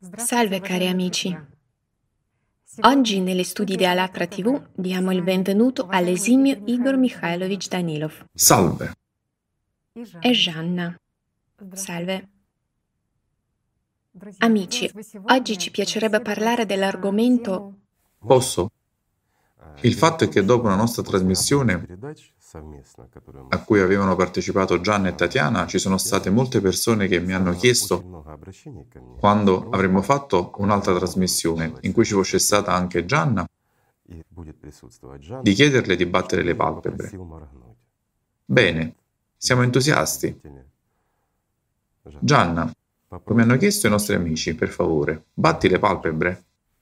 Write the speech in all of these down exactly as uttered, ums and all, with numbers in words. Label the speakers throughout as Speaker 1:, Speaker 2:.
Speaker 1: Salve cari amici, oggi negli studi di Alatra T V diamo il benvenuto all'esimio Igor Mikhailovich Danilov
Speaker 2: Salve.
Speaker 1: e Gianna. Salve. Amici, oggi ci piacerebbe parlare dell'argomento.
Speaker 2: Posso? Il fatto è che dopo una nostra trasmissione a cui avevano partecipato Gianna e Tatiana, ci sono state molte persone che mi hanno chiesto, quando avremmo fatto un'altra trasmissione in cui ci fosse stata anche Gianna, di chiederle di battere le palpebre. Bene, siamo entusiasti. Gianna, come hanno chiesto i nostri amici, per favore, batti le palpebre.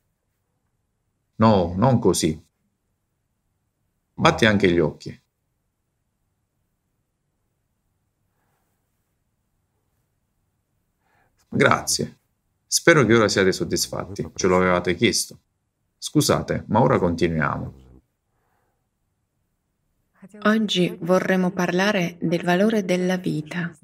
Speaker 2: No, non così. Batti anche gli occhi. Grazie. Spero che ora siate soddisfatti. Ce lo avevate chiesto. Scusate, ma ora continuiamo.
Speaker 1: Oggi vorremmo parlare del valore della vita.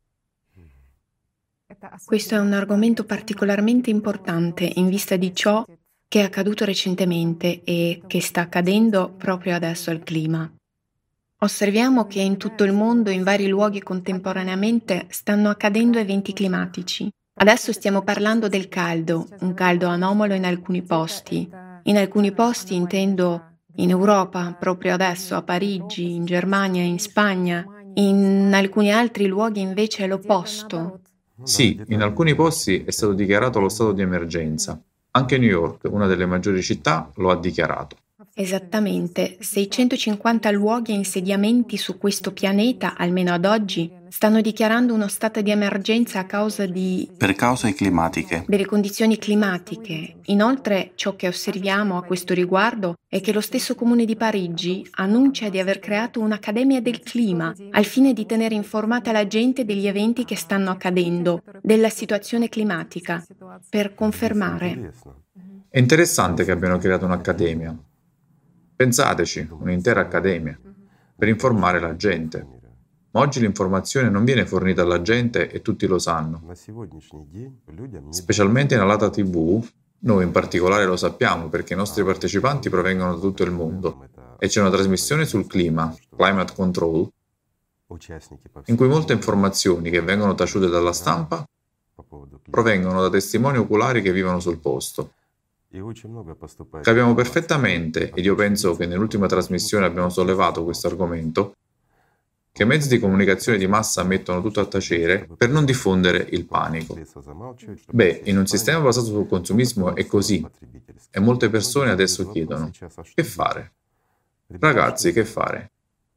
Speaker 1: Questo è un argomento particolarmente importante in vista di ciò che è accaduto recentemente e che sta accadendo proprio adesso al clima. Osserviamo che in tutto il mondo, in vari luoghi contemporaneamente, stanno accadendo eventi climatici. Adesso stiamo parlando del caldo, un caldo anomalo in alcuni posti. In alcuni posti intendo in Europa, proprio adesso, a Parigi, in Germania, in Spagna. In alcuni altri luoghi invece è l'opposto.
Speaker 2: Sì, in alcuni posti è stato dichiarato lo stato di emergenza. Anche New York, una delle maggiori città, lo ha dichiarato.
Speaker 1: Esattamente, seicentocinquanta luoghi e insediamenti su questo pianeta, almeno ad oggi, stanno dichiarando uno stato di emergenza a causa di...
Speaker 3: Per cause climatiche.
Speaker 1: delle condizioni climatiche. Inoltre, ciò che osserviamo a questo riguardo è che lo stesso Comune di Parigi annuncia di aver creato un'Accademia del Clima al fine di tenere informata la gente degli eventi che stanno accadendo, della situazione climatica, per confermare.
Speaker 2: È interessante che abbiano creato un'accademia. Pensateci, un'intera accademia, per informare la gente. Ma oggi l'informazione non viene fornita alla gente e tutti lo sanno. Specialmente in Alatra T V, noi in particolare lo sappiamo perché i nostri partecipanti provengono da tutto il mondo e c'è una trasmissione sul clima, Climate Control, in cui molte informazioni che vengono taciute dalla stampa provengono da testimoni oculari che vivono sul posto. Capiamo perfettamente, ed io penso che nell'ultima trasmissione abbiamo sollevato questo argomento, che i mezzi di comunicazione di massa mettono tutto a tacere per non diffondere il panico. Beh, in un sistema basato sul consumismo è così, e molte persone adesso chiedono, che fare? Ragazzi, che fare?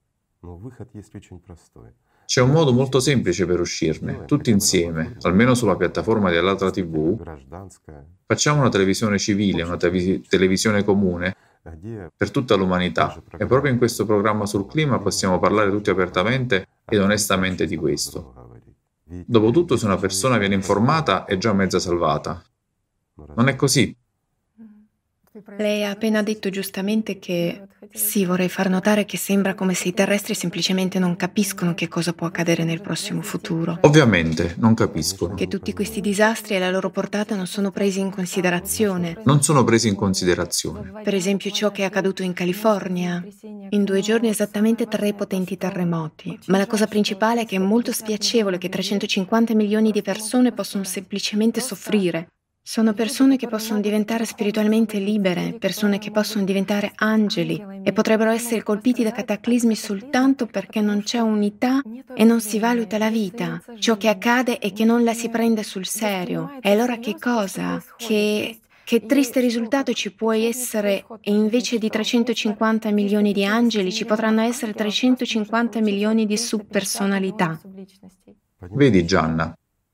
Speaker 2: C'è un modo molto semplice per uscirne, tutti insieme, almeno sulla piattaforma di Alatra T V, facciamo una televisione civile, una te- televisione comune per tutta l'umanità e proprio in questo programma sul clima possiamo parlare tutti apertamente ed onestamente di questo. Dopotutto, se una persona viene informata è già mezza salvata. Non è così?
Speaker 1: Lei ha appena detto giustamente che sì, vorrei far notare che sembra come se i terrestri semplicemente non capiscono che cosa può accadere nel prossimo futuro.
Speaker 2: Ovviamente, non capiscono.
Speaker 1: Che tutti questi disastri e la loro portata non sono presi in considerazione.
Speaker 2: Non sono presi in considerazione.
Speaker 1: Per esempio ciò che è accaduto in California. In due giorni esattamente tre potenti terremoti. Ma la cosa principale è che è molto spiacevole che trecentocinquanta milioni di persone possono semplicemente soffrire. Sono persone che possono diventare spiritualmente libere, persone che possono diventare angeli e potrebbero essere colpiti da cataclismi soltanto perché non c'è unità e non si valuta la vita. Ciò che accade è che non la si prende sul serio. E allora che cosa? Che... Che triste risultato ci può essere e invece di trecentocinquanta milioni di angeli ci potranno essere trecentocinquanta milioni di subpersonalità.
Speaker 2: Vedi Gianna,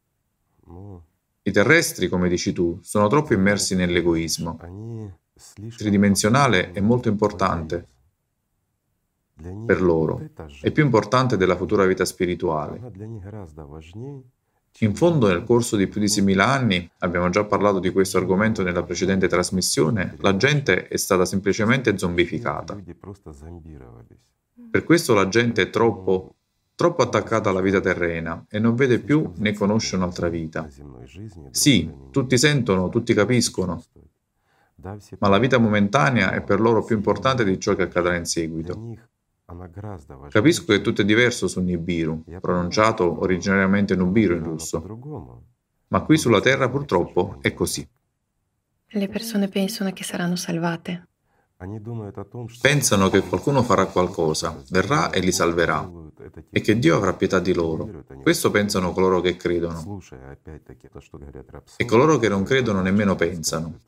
Speaker 2: i terrestri, come dici tu, sono troppo immersi nell'egoismo. Tridimensionale è molto importante per loro, è più importante della futura vita spirituale. In fondo, nel corso di più di seimila anni, abbiamo già parlato di questo argomento nella precedente trasmissione, la gente è stata semplicemente zombificata. Per questo la gente è troppo troppo attaccata alla vita terrena e non vede più né conosce un'altra vita. Sì, tutti sentono, tutti capiscono, ma la vita momentanea è per loro più importante di ciò che accadrà in seguito. Capisco che tutto è diverso su Nibiru, pronunciato originariamente Nubiru in russo, ma qui sulla Terra purtroppo è così.
Speaker 1: Le persone pensano che saranno salvate.
Speaker 2: Pensano che qualcuno farà qualcosa, verrà e li salverà, e che Dio avrà pietà di loro. Questo pensano coloro che credono. E coloro che non credono nemmeno pensano.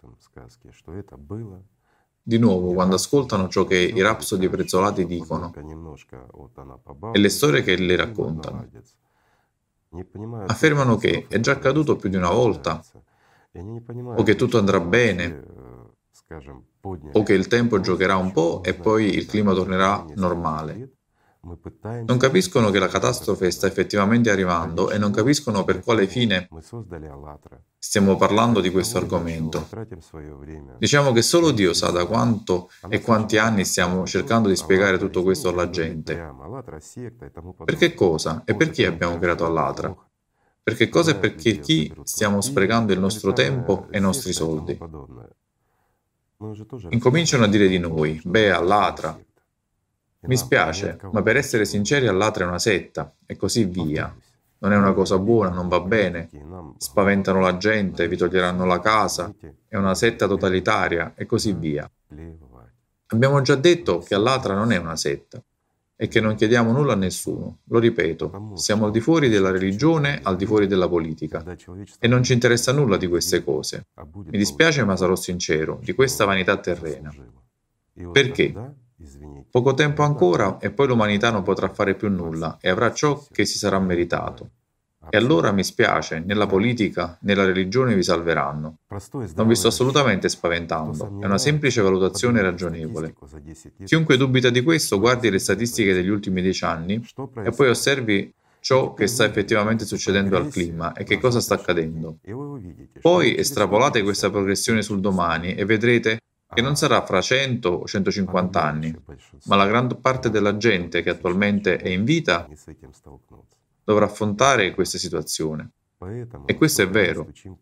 Speaker 2: Di nuovo, quando ascoltano ciò che i rapsodi prezzolati dicono e le storie che le raccontano, affermano che è già accaduto più di una volta, o che tutto andrà bene, o che il tempo giocherà un po' e poi il clima tornerà normale. Non capiscono che la catastrofe sta effettivamente arrivando e non capiscono per quale fine stiamo parlando di questo argomento. Diciamo che solo Dio sa da quanto e quanti anni stiamo cercando di spiegare tutto questo alla gente. Per che cosa e per chi abbiamo creato Allatra? Per che cosa e per che chi stiamo sprecando il nostro tempo e i nostri soldi? Incominciano a dire di noi, beh, Allatra. Mi spiace, ma per essere sinceri Allatra è una setta, e così via. Non è una cosa buona, non va bene. Spaventano la gente, vi toglieranno la casa, è una setta totalitaria, e così via. Abbiamo già detto che Allatra non è una setta, e che non chiediamo nulla a nessuno. Lo ripeto, siamo al di fuori della religione, al di fuori della politica, e non ci interessa nulla di queste cose. Mi dispiace, ma sarò sincero, di questa vanità terrena. Perché? Poco tempo ancora e poi l'umanità non potrà fare più nulla e avrà ciò che si sarà meritato. E allora mi spiace, né la politica né la religione vi salveranno. Non vi sto assolutamente spaventando, è una semplice valutazione ragionevole. Chiunque dubita di questo guardi le statistiche degli ultimi dieci anni e poi osservi ciò che sta effettivamente succedendo al clima e che cosa sta accadendo. Poi estrapolate questa progressione sul domani e vedrete che non sarà fra cento o centocinquanta anni, ma la gran parte della gente che attualmente è in vita dovrà affrontare questa situazione. E questo è vero.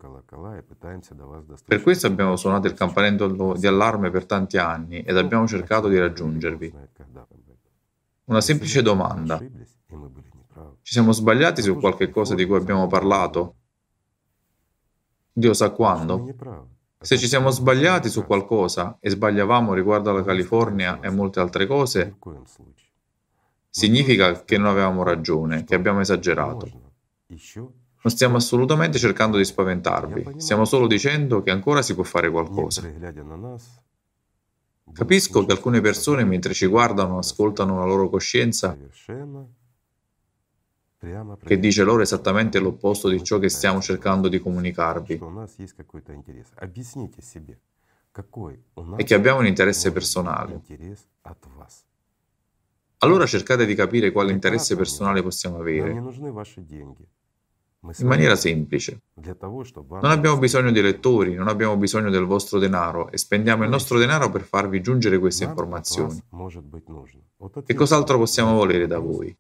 Speaker 2: Per questo abbiamo suonato il campanello di allarme per tanti anni ed abbiamo cercato di raggiungervi. Una semplice domanda. Ci siamo sbagliati su qualche cosa di cui abbiamo parlato? Dio sa quando? Se ci siamo sbagliati su qualcosa e sbagliavamo riguardo alla California e molte altre cose, significa che non avevamo ragione, che abbiamo esagerato. Non stiamo assolutamente cercando di spaventarvi, stiamo solo dicendo che ancora si può fare qualcosa. Capisco che alcune persone mentre ci guardano ascoltano la loro coscienza che dice loro esattamente l'opposto di ciò che stiamo cercando di comunicarvi e che abbiamo un interesse personale. Allora cercate di capire quale interesse personale possiamo avere. In maniera semplice. Non abbiamo bisogno di lettori, non abbiamo bisogno del vostro denaro e spendiamo il nostro denaro per farvi giungere queste informazioni. Che cos'altro possiamo volere da voi?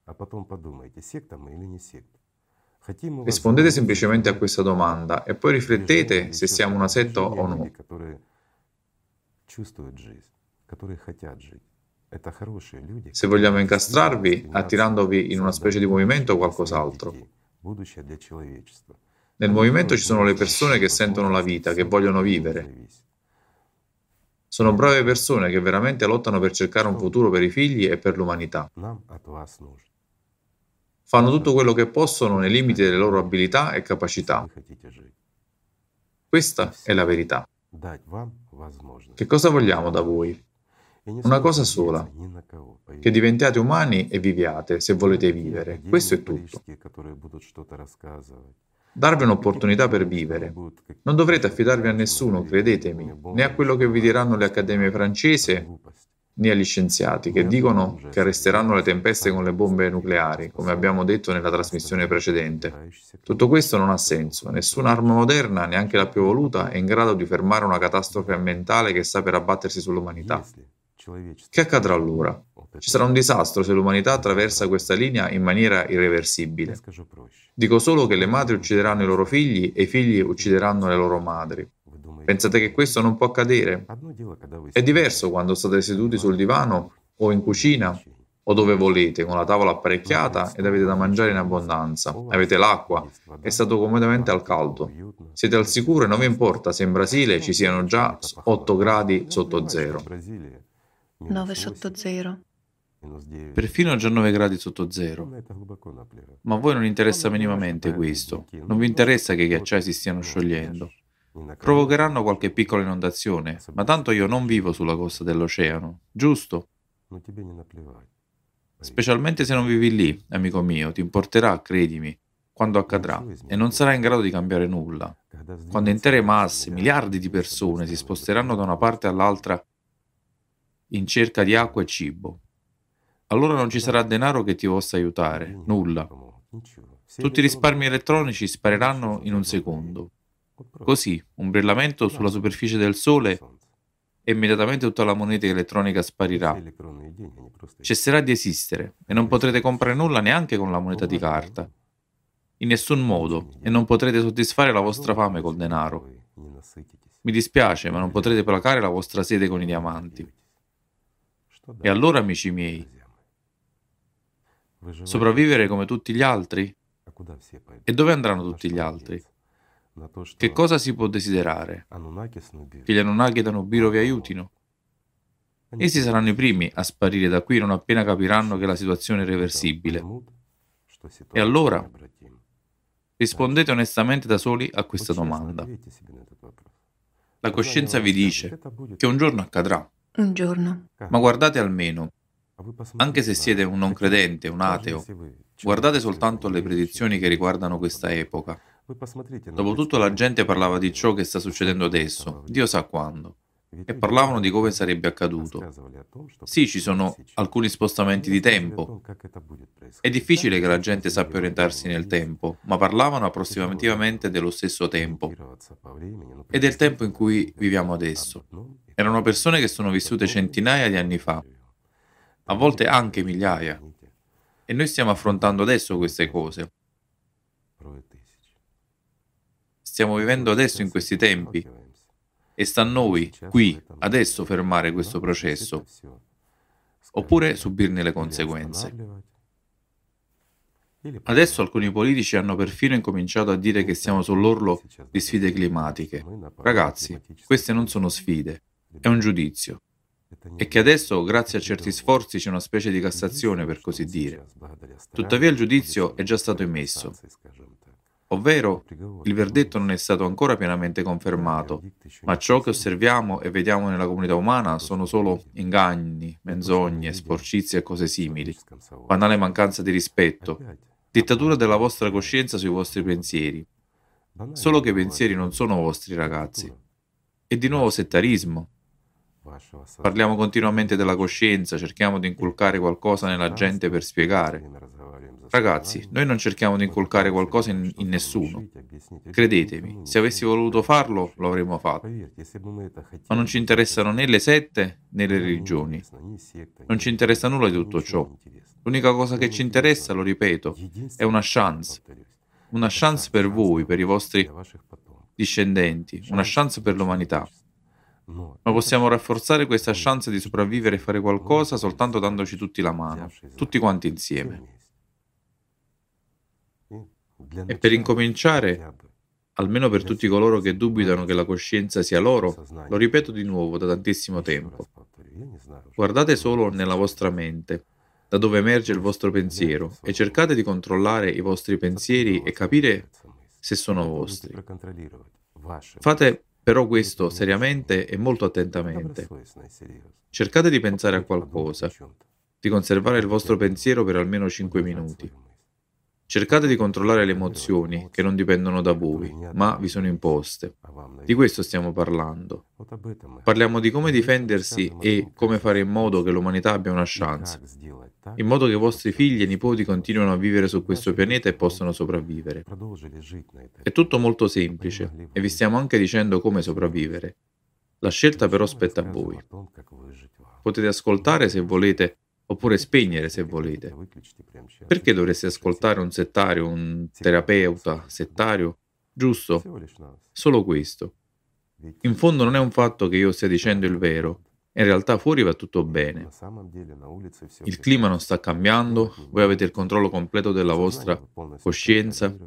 Speaker 2: Rispondete semplicemente a questa domanda e poi riflettete se siamo una setta o no. Se vogliamo incastrarvi, attirandovi in una specie di movimento o qualcos'altro. Nel movimento ci sono le persone che sentono la vita, che vogliono vivere. Sono brave persone che veramente lottano per cercare un futuro per i figli e per l'umanità. Fanno tutto quello che possono nei limiti delle loro abilità e capacità. Questa è la verità. Che cosa vogliamo da voi? Una cosa sola, che diventiate umani e viviate se volete vivere. Questo è tutto. Darvi un'opportunità per vivere. Non dovrete affidarvi a nessuno, credetemi, né a quello che vi diranno le accademie francesi, né agli scienziati che dicono che arresteranno le tempeste con le bombe nucleari, come abbiamo detto nella trasmissione precedente. Tutto questo non ha senso. Nessuna arma moderna, neanche la più evoluta, è in grado di fermare una catastrofe ambientale che sta per abbattersi sull'umanità. Che accadrà allora? Ci sarà un disastro se l'umanità attraversa questa linea in maniera irreversibile. Dico solo che le madri uccideranno i loro figli e i figli uccideranno le loro madri. Pensate che questo non può accadere? È diverso quando state seduti sul divano o in cucina o dove volete, con la tavola apparecchiata ed avete da mangiare in abbondanza, avete l'acqua e state comodamente al caldo. Siete al sicuro e non vi importa se in Brasile ci siano già otto gradi sotto zero.
Speaker 1: nove sotto zero.
Speaker 2: Perfino già nove gradi sotto zero. Ma a voi non interessa minimamente questo. Non vi interessa che i ghiacciai si stiano sciogliendo. Provocheranno qualche piccola inondazione, ma tanto io non vivo sulla costa dell'oceano, giusto? Specialmente se non vivi lì, amico mio, ti importerà, credimi, quando accadrà, e non sarai in grado di cambiare nulla. Quando intere masse, miliardi di persone si sposteranno da una parte all'altra in cerca di acqua e cibo. Allora non ci sarà denaro che ti possa aiutare, nulla. Tutti i risparmi elettronici spariranno in un secondo. Così, un brillamento sulla superficie del Sole e immediatamente tutta la moneta elettronica sparirà. Cesserà di esistere e non potrete comprare nulla neanche con la moneta di carta. In nessun modo, e non potrete soddisfare la vostra fame col denaro. Mi dispiace, ma non potrete placare la vostra sete con i diamanti. E allora, amici miei, sopravvivere come tutti gli altri? E dove andranno tutti gli altri? Che cosa si può desiderare? Che gli Anunnaki da Nibiru vi aiutino? Essi saranno i primi a sparire da qui non appena capiranno che la situazione è irreversibile. E allora? Rispondete onestamente da soli a questa domanda. La coscienza vi dice che un giorno accadrà.
Speaker 1: Un giorno.
Speaker 2: Ma guardate almeno, anche se siete un non credente, un ateo, guardate soltanto le predizioni che riguardano questa epoca. Dopotutto la gente parlava di ciò che sta succedendo adesso, Dio sa quando, e parlavano di come sarebbe accaduto. Sì, ci sono alcuni spostamenti di tempo. È difficile che la gente sappia orientarsi nel tempo, ma parlavano approssimativamente dello stesso tempo e del tempo in cui viviamo adesso. Erano persone che sono vissute centinaia di anni fa, a volte anche migliaia, e noi stiamo affrontando adesso queste cose. Stiamo vivendo adesso in questi tempi e sta a noi, qui, adesso, fermare questo processo, oppure subirne le conseguenze. Adesso alcuni politici hanno perfino incominciato a dire che siamo sull'orlo di sfide climatiche. Ragazzi, queste non sono sfide, è un giudizio. E che adesso, grazie a certi sforzi, c'è una specie di Cassazione, per così dire. Tuttavia il giudizio è già stato emesso. Ovvero, il verdetto non è stato ancora pienamente confermato, ma ciò che osserviamo e vediamo nella comunità umana sono solo inganni, menzogne, sporcizie e cose simili, banale mancanza di rispetto, dittatura della vostra coscienza sui vostri pensieri. Solo che i pensieri non sono vostri, ragazzi. E di nuovo settarismo. Parliamo continuamente della coscienza, cerchiamo di inculcare qualcosa nella gente per spiegare. Ragazzi, noi non cerchiamo di inculcare qualcosa in, in nessuno. Credetemi, se avessi voluto farlo, lo avremmo fatto. Ma non ci interessano né le sette né le religioni. Non ci interessa nulla di tutto ciò. L'unica cosa che ci interessa, lo ripeto, è una chance. Una chance per voi, per i vostri discendenti, una chance per l'umanità. Ma possiamo rafforzare questa chance di sopravvivere e fare qualcosa soltanto dandoci tutti la mano, tutti quanti insieme. E per incominciare, almeno per tutti coloro che dubitano che la coscienza sia loro, lo ripeto di nuovo da tantissimo tempo. Guardate solo nella vostra mente, da dove emerge il vostro pensiero, e cercate di controllare i vostri pensieri e capire se sono vostri. Fate però questo seriamente e molto attentamente. Cercate di pensare a qualcosa, di conservare il vostro pensiero per almeno cinque minuti. Cercate di controllare le emozioni che non dipendono da voi, ma vi sono imposte. Di questo stiamo parlando. Parliamo di come difendersi e come fare in modo che l'umanità abbia una chance, in modo che i vostri figli e nipoti continuino a vivere su questo pianeta e possano sopravvivere. È tutto molto semplice e vi stiamo anche dicendo come sopravvivere. La scelta però spetta a voi. Potete ascoltare se volete oppure spegnere se volete. Perché dovreste ascoltare un settario, un terapeuta settario? Giusto? Solo questo. In fondo non è un fatto che io stia dicendo il vero. In realtà fuori va tutto bene. Il clima non sta cambiando, voi avete il controllo completo della vostra coscienza.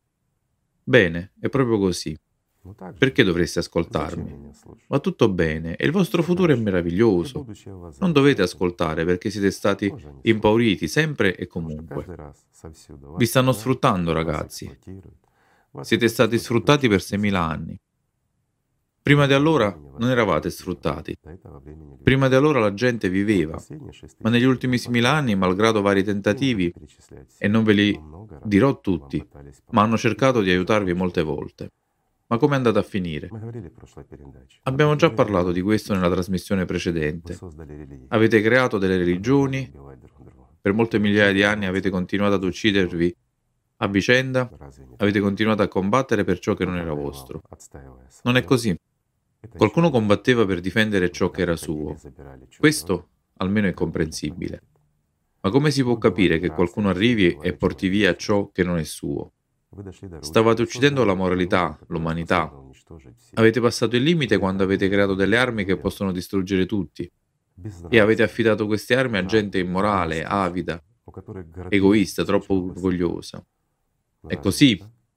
Speaker 2: Bene, è proprio così. Perché dovreste ascoltarmi? Va tutto bene e il vostro futuro è meraviglioso. Non dovete ascoltare perché siete stati impauriti sempre e comunque. Vi stanno sfruttando, ragazzi. Siete stati sfruttati per seimila anni. Prima di allora non eravate sfruttati. Prima di allora la gente viveva, ma negli ultimi seimila anni, malgrado vari tentativi, e non ve li dirò tutti, ma hanno cercato di aiutarvi molte volte. Ma come è andata a finire? Abbiamo già parlato di questo nella trasmissione precedente. Avete creato delle religioni, per molte migliaia di anni avete continuato ad uccidervi a vicenda, avete continuato a combattere per ciò che non era vostro. Non è così. Qualcuno combatteva per difendere ciò che era suo. Questo almeno è comprensibile. Ma come si può capire che qualcuno arrivi e porti via ciò che non è suo? Stavate uccidendo la moralità, l'umanità. Avete passato il limite quando avete creato delle armi che possono distruggere tutti. E avete affidato queste armi a gente immorale, avida, egoista, troppo orgogliosa. È così?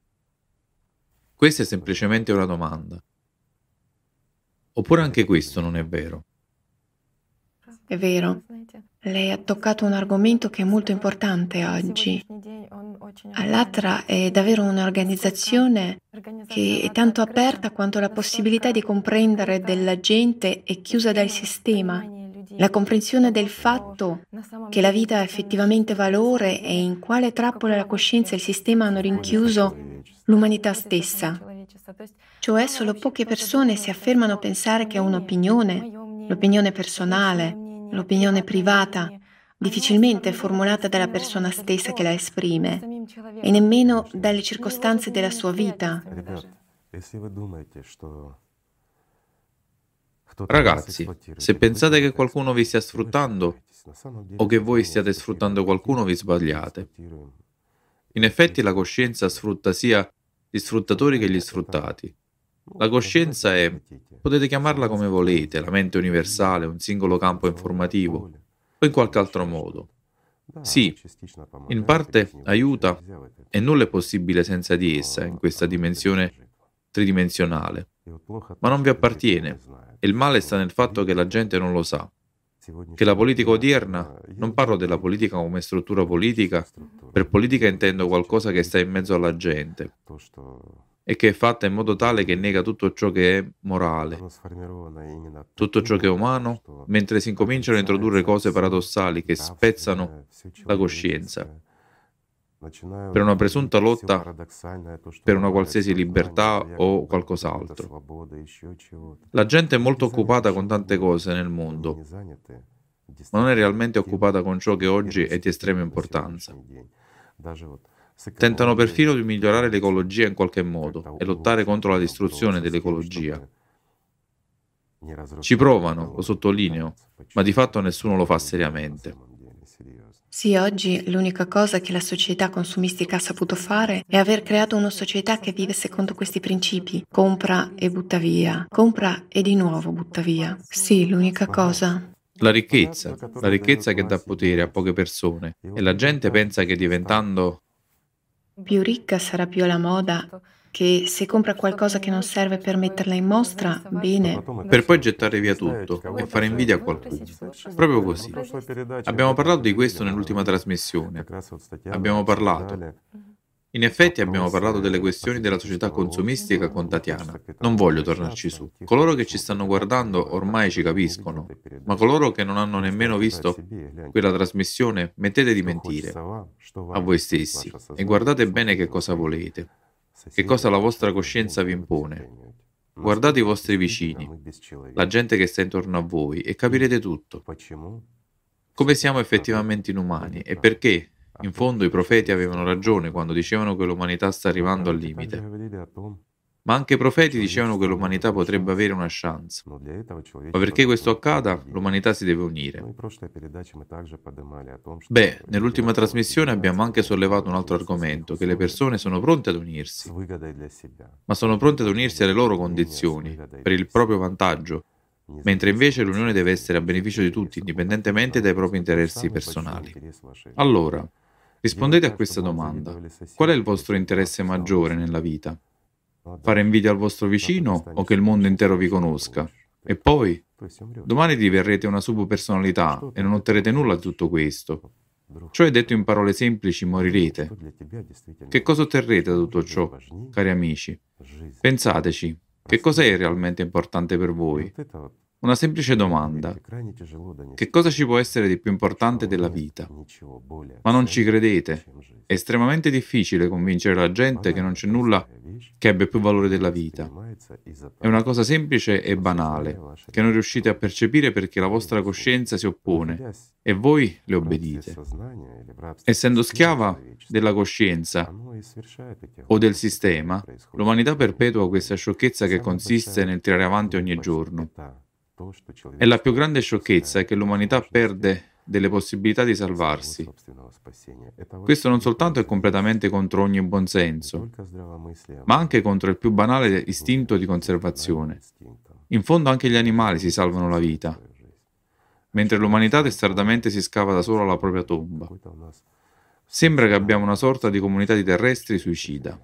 Speaker 2: Questa è semplicemente una domanda. Oppure anche questo non è vero?
Speaker 1: È vero. Lei ha toccato un argomento che è molto importante oggi. Allatra è davvero un'organizzazione che è tanto aperta quanto la possibilità di comprendere della gente è chiusa dal sistema. La comprensione del fatto che la vita ha effettivamente valore e in quale trappola la coscienza e il sistema hanno rinchiuso l'umanità stessa. Cioè solo poche persone si affermano a pensare che un'opinione, l'opinione personale, l'opinione privata, difficilmente è formulata dalla persona stessa che la esprime, e nemmeno dalle circostanze della sua vita.
Speaker 2: Ragazzi, se pensate che qualcuno vi stia sfruttando o che voi stiate sfruttando qualcuno, vi sbagliate. In effetti la coscienza sfrutta sia gli sfruttatori che gli sfruttati. La coscienza è, potete chiamarla come volete, la mente universale, un singolo campo informativo, o in qualche altro modo. Sì, in parte aiuta e nulla è possibile senza di essa in questa dimensione tridimensionale, ma non vi appartiene e il male sta nel fatto che la gente non lo sa. Che la politica odierna, non parlo della politica come struttura politica, per politica intendo qualcosa che sta in mezzo alla gente e che è fatta in modo tale che nega tutto ciò che è morale, tutto ciò che è umano, mentre si incominciano a introdurre cose paradossali che spezzano la coscienza per una presunta lotta per una qualsiasi libertà o qualcos'altro. La gente è molto occupata con tante cose nel mondo, ma non è realmente occupata con ciò che oggi è di estrema importanza. Tentano perfino di migliorare l'ecologia in qualche modo e lottare contro la distruzione dell'ecologia. Ci provano, lo sottolineo, ma di fatto nessuno lo fa seriamente.
Speaker 1: Sì, oggi l'unica cosa che la società consumistica ha saputo fare è aver creato una società che vive secondo questi principi. Compra e butta via, compra e di nuovo butta via. Sì, l'unica cosa.
Speaker 2: La ricchezza, la ricchezza che dà potere a poche persone e la gente pensa che diventando
Speaker 1: più ricca sarà più alla moda, che se compra qualcosa che non serve per metterla in mostra, bene.
Speaker 2: Per poi gettare via tutto e fare invidia a qualcuno. Proprio così. Abbiamo parlato di questo nell'ultima trasmissione. Abbiamo parlato. In effetti abbiamo parlato delle questioni della società consumistica con Tatiana. Non voglio tornarci su. Coloro che ci stanno guardando ormai ci capiscono, ma coloro che non hanno nemmeno visto quella trasmissione, mettete di mentire a voi stessi e guardate bene che cosa volete, che cosa la vostra coscienza vi impone. Guardate i vostri vicini, la gente che sta intorno a voi e capirete tutto. Come siamo effettivamente inumani e perché, in fondo, i profeti avevano ragione quando dicevano che l'umanità sta arrivando al limite. Ma anche i profeti dicevano che l'umanità potrebbe avere una chance. Ma perché questo accada, l'umanità si deve unire. Beh, nell'ultima trasmissione abbiamo anche sollevato un altro argomento, che le persone sono pronte ad unirsi, ma sono pronte ad unirsi alle loro condizioni, per il proprio vantaggio, mentre invece l'unione deve essere a beneficio di tutti, indipendentemente dai propri interessi personali. Allora, rispondete a questa domanda. Qual è il vostro interesse maggiore nella vita? Fare invidia al vostro vicino o che il mondo intero vi conosca? E poi, domani diverrete una subpersonalità e non otterrete nulla di tutto questo. Cioè, detto in parole semplici, morirete. Che cosa otterrete da tutto ciò, cari amici? Pensateci, che cosa è realmente importante per voi? Una semplice domanda. Che cosa ci può essere di più importante della vita? Ma non ci credete? È estremamente difficile convincere la gente che non c'è nulla che abbia più valore della vita. È una cosa semplice e banale, che non riuscite a percepire perché la vostra coscienza si oppone e voi le obbedite. Essendo schiava della coscienza o del sistema, l'umanità perpetua questa sciocchezza che consiste nel tirare avanti ogni giorno. E la più grande sciocchezza è che l'umanità perde delle possibilità di salvarsi. Questo non soltanto è completamente contro ogni buonsenso, ma anche contro il più banale istinto di conservazione. In fondo anche gli animali si salvano la vita, mentre l'umanità testardamente si scava da sola la propria tomba. Sembra che abbiamo una sorta di comunità di terrestri suicida.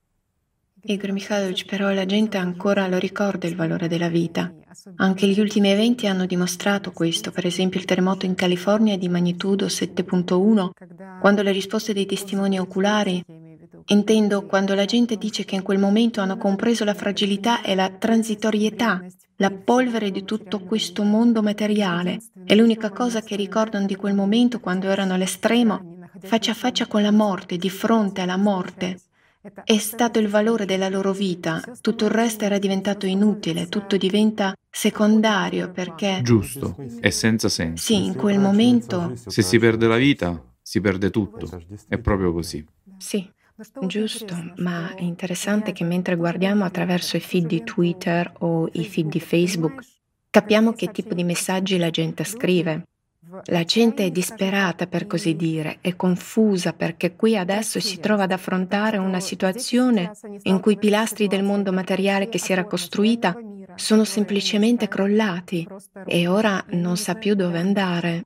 Speaker 1: Igor Mikhailovich, però la gente ancora lo ricorda il valore della vita. Anche gli ultimi eventi hanno dimostrato questo, per esempio il terremoto in California di magnitudo sette virgola uno, quando le risposte dei testimoni oculari, intendo quando la gente dice che in quel momento hanno compreso la fragilità e la transitorietà, la polvere di tutto questo mondo materiale, e l'unica cosa che ricordano di quel momento quando erano all'estremo, faccia a faccia con la morte, di fronte alla morte, è stato il valore della loro vita. Tutto il resto era diventato inutile, tutto diventa secondario perché...
Speaker 2: Giusto, è senza senso.
Speaker 1: Sì, in quel momento...
Speaker 2: Se si perde la vita, si perde tutto. È proprio così.
Speaker 1: Sì, giusto, ma è interessante che mentre guardiamo attraverso i feed di Twitter o i feed di Facebook, capiamo che tipo di messaggi la gente scrive. La gente è disperata, per così dire, è confusa perché qui adesso si trova ad affrontare una situazione in cui i pilastri del mondo materiale che si era costruita sono semplicemente crollati e ora non sa più dove andare.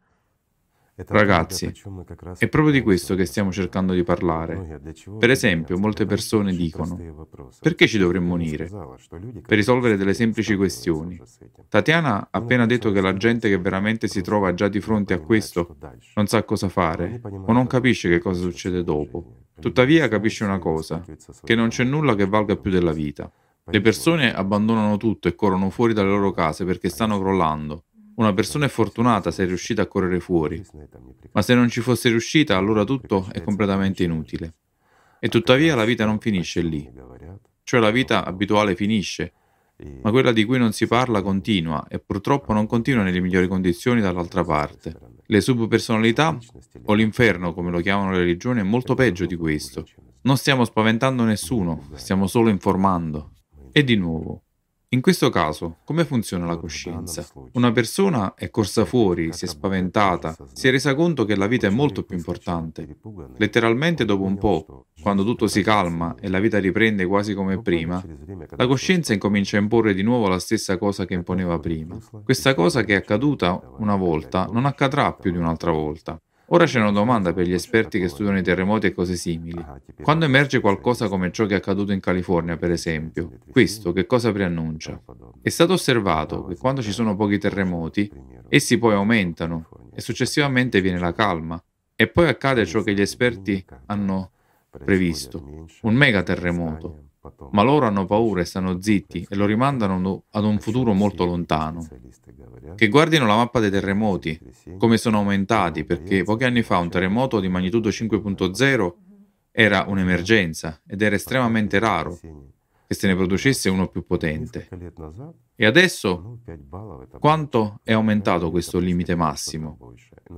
Speaker 2: Ragazzi, è proprio di questo che stiamo cercando di parlare. Per esempio, molte persone dicono: perché ci dovremmo unire? Per risolvere delle semplici questioni. Tatiana ha appena detto che la gente che veramente si trova già di fronte a questo non sa cosa fare o non capisce che cosa succede dopo. Tuttavia capisce una cosa, che non c'è nulla che valga più della vita. Le persone abbandonano tutto e corrono fuori dalle loro case perché stanno crollando. Una persona è fortunata se è riuscita a correre fuori, ma se non ci fosse riuscita, allora tutto è completamente inutile. E tuttavia la vita non finisce lì. Cioè la vita abituale finisce, ma quella di cui non si parla continua e purtroppo non continua nelle migliori condizioni dall'altra parte. Le subpersonalità, o l'inferno come lo chiamano le religioni, è molto peggio di questo. Non stiamo spaventando nessuno, stiamo solo informando. E di nuovo, in questo caso, come funziona la coscienza? Una persona è corsa fuori, si è spaventata, si è resa conto che la vita è molto più importante. Letteralmente dopo un po', quando tutto si calma e la vita riprende quasi come prima, la coscienza incomincia a imporre di nuovo la stessa cosa che imponeva prima. Questa cosa che è accaduta una volta non accadrà più di un'altra volta. Ora c'è una domanda per gli esperti che studiano i terremoti e cose simili. Quando emerge qualcosa come ciò che è accaduto in California, per esempio, questo che cosa preannuncia? È stato osservato che quando ci sono pochi terremoti, essi poi aumentano e successivamente viene la calma. E poi accade ciò che gli esperti hanno previsto, un mega terremoto. Ma loro hanno paura e stanno zitti e lo rimandano ad un futuro molto lontano. Che guardino la mappa dei terremoti, come sono aumentati, perché pochi anni fa un terremoto di magnitudo cinque virgola zero era un'emergenza ed era estremamente raro che se ne producesse uno più potente. E adesso quanto è aumentato questo limite massimo?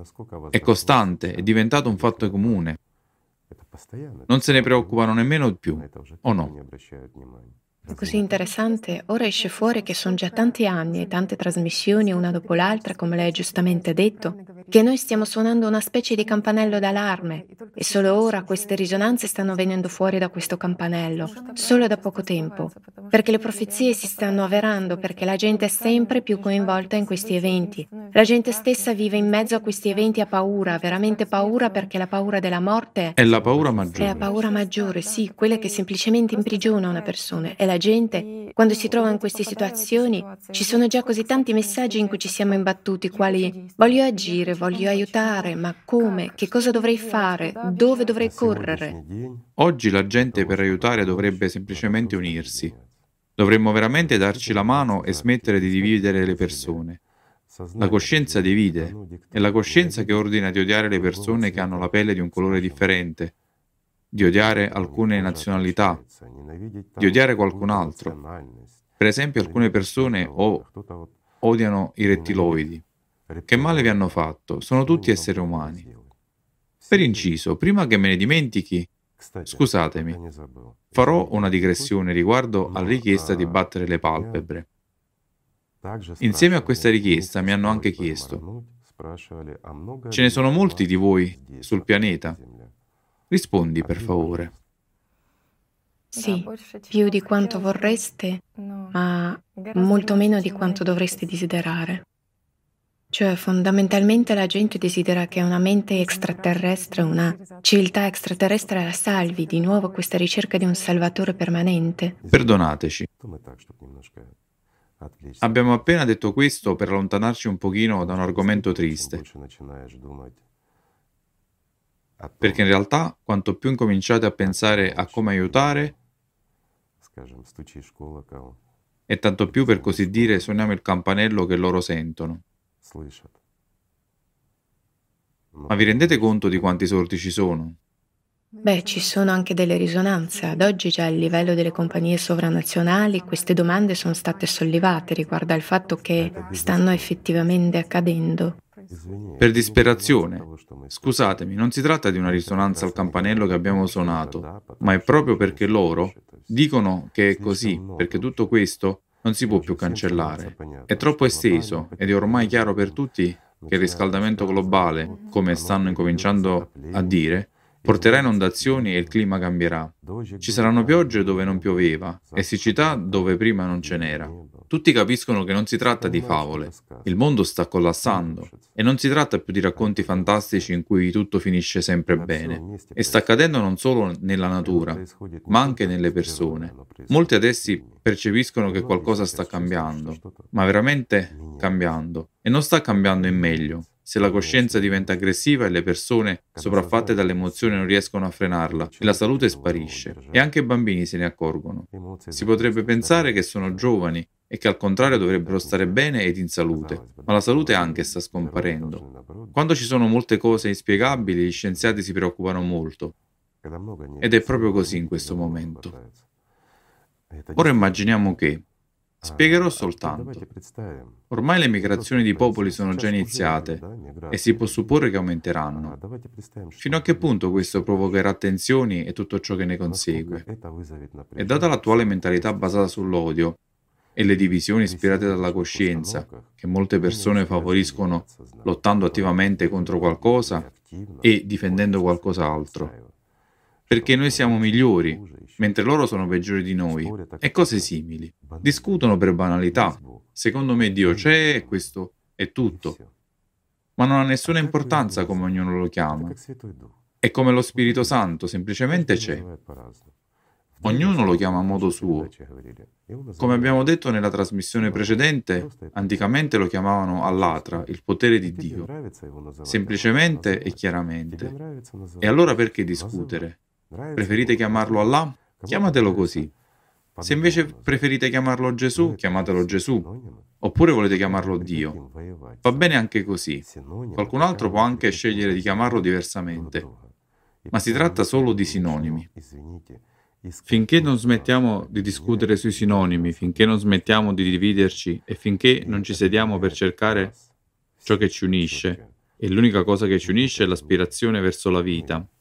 Speaker 2: È costante, è diventato un fatto comune. Non se ne preoccupano nemmeno più, o no?
Speaker 1: È così interessante, ora esce fuori che sono già tanti anni e tante trasmissioni una dopo l'altra, come lei ha giustamente detto, che noi stiamo suonando una specie di campanello d'allarme e solo ora queste risonanze stanno venendo fuori da questo campanello, solo da poco tempo, perché le profezie si stanno avverando, perché la gente è sempre più coinvolta in questi eventi. La gente stessa vive in mezzo a questi eventi a paura, veramente paura, perché la paura della morte
Speaker 2: È la paura
Speaker 1: è la
Speaker 2: maggiore.
Speaker 1: paura maggiore, sì, quella che semplicemente imprigiona una persona. E la gente, quando si trova in queste situazioni, ci sono già così tanti messaggi in cui ci siamo imbattuti, quali voglio agire, voglio aiutare, ma come? Che cosa dovrei fare? Dove dovrei correre?
Speaker 2: Oggi la gente per aiutare dovrebbe semplicemente unirsi. Dovremmo veramente darci la mano e smettere di dividere le persone. La coscienza divide, è la coscienza che ordina di odiare le persone che hanno la pelle di un colore differente, di odiare alcune nazionalità, di odiare qualcun altro. Per esempio, alcune persone o odiano i rettiloidi. Che male vi hanno fatto? Sono tutti esseri umani. Per inciso, prima che me ne dimentichi, scusatemi, farò una digressione riguardo alla richiesta di battere le palpebre. Insieme a questa richiesta mi hanno anche chiesto: ce ne sono molti di voi sul pianeta? Rispondi, per favore.
Speaker 1: Sì, più di quanto vorreste, ma molto meno di quanto dovreste desiderare. Cioè, fondamentalmente la gente desidera che una mente extraterrestre, una civiltà extraterrestre la salvi, di nuovo questa ricerca di un salvatore permanente.
Speaker 2: Perdonateci. Abbiamo appena detto questo per allontanarci un pochino da un argomento triste. Perché in realtà, quanto più incominciate a pensare a come aiutare, e tanto più, per così dire, suoniamo il campanello che loro sentono. Ma vi rendete conto di quanti sordi ci sono?
Speaker 1: Beh, ci sono anche delle risonanze. Ad oggi già a livello delle compagnie sovranazionali queste domande sono state sollevate riguardo al fatto che stanno effettivamente accadendo.
Speaker 2: Per disperazione. Scusatemi, non si tratta di una risonanza al campanello che abbiamo suonato, ma è proprio perché loro dicono che è così, perché tutto questo non si può più cancellare. È troppo esteso ed è ormai chiaro per tutti che il riscaldamento globale, come stanno incominciando a dire, porterà inondazioni e il clima cambierà. Ci saranno piogge dove non pioveva e siccità dove prima non ce n'era. Tutti capiscono che non si tratta di favole. Il mondo sta collassando e non si tratta più di racconti fantastici in cui tutto finisce sempre bene. E sta accadendo non solo nella natura, ma anche nelle persone. Molti adesso percepiscono che qualcosa sta cambiando, ma veramente cambiando. E non sta cambiando in meglio. Se la coscienza diventa aggressiva e le persone sopraffatte dalle emozioni non riescono a frenarla e la salute sparisce, e anche i bambini se ne accorgono. Si potrebbe pensare che sono giovani e che al contrario dovrebbero stare bene ed in salute, ma la salute anche sta scomparendo. Quando ci sono molte cose inspiegabili, gli scienziati si preoccupano molto. Ed è proprio così in questo momento. Ora immaginiamo che spiegherò soltanto. Ormai le migrazioni di popoli sono già iniziate e si può supporre che aumenteranno. Fino a che punto questo provocherà tensioni e tutto ciò che ne consegue? E data l'attuale mentalità basata sull'odio e le divisioni ispirate dalla coscienza, che molte persone favoriscono lottando attivamente contro qualcosa e difendendo qualcos'altro, perché noi siamo migliori, mentre loro sono peggiori di noi, e cose simili. Discutono per banalità. Secondo me Dio c'è e questo è tutto. Ma non ha nessuna importanza come ognuno lo chiama. È come lo Spirito Santo, semplicemente c'è. Ognuno lo chiama a modo suo. Come abbiamo detto nella trasmissione precedente, anticamente lo chiamavano Allatra, il potere di Dio, semplicemente e chiaramente. E allora perché discutere? Preferite chiamarlo Allah? Chiamatelo così. Se invece preferite chiamarlo Gesù, chiamatelo Gesù. Oppure volete chiamarlo Dio. Va bene anche così. Qualcun altro può anche scegliere di chiamarlo diversamente. Ma si tratta solo di sinonimi. Finché non smettiamo di discutere sui sinonimi, finché non smettiamo di dividerci e finché non ci sediamo per cercare ciò che ci unisce, e l'unica cosa che ci unisce è l'aspirazione verso la vita,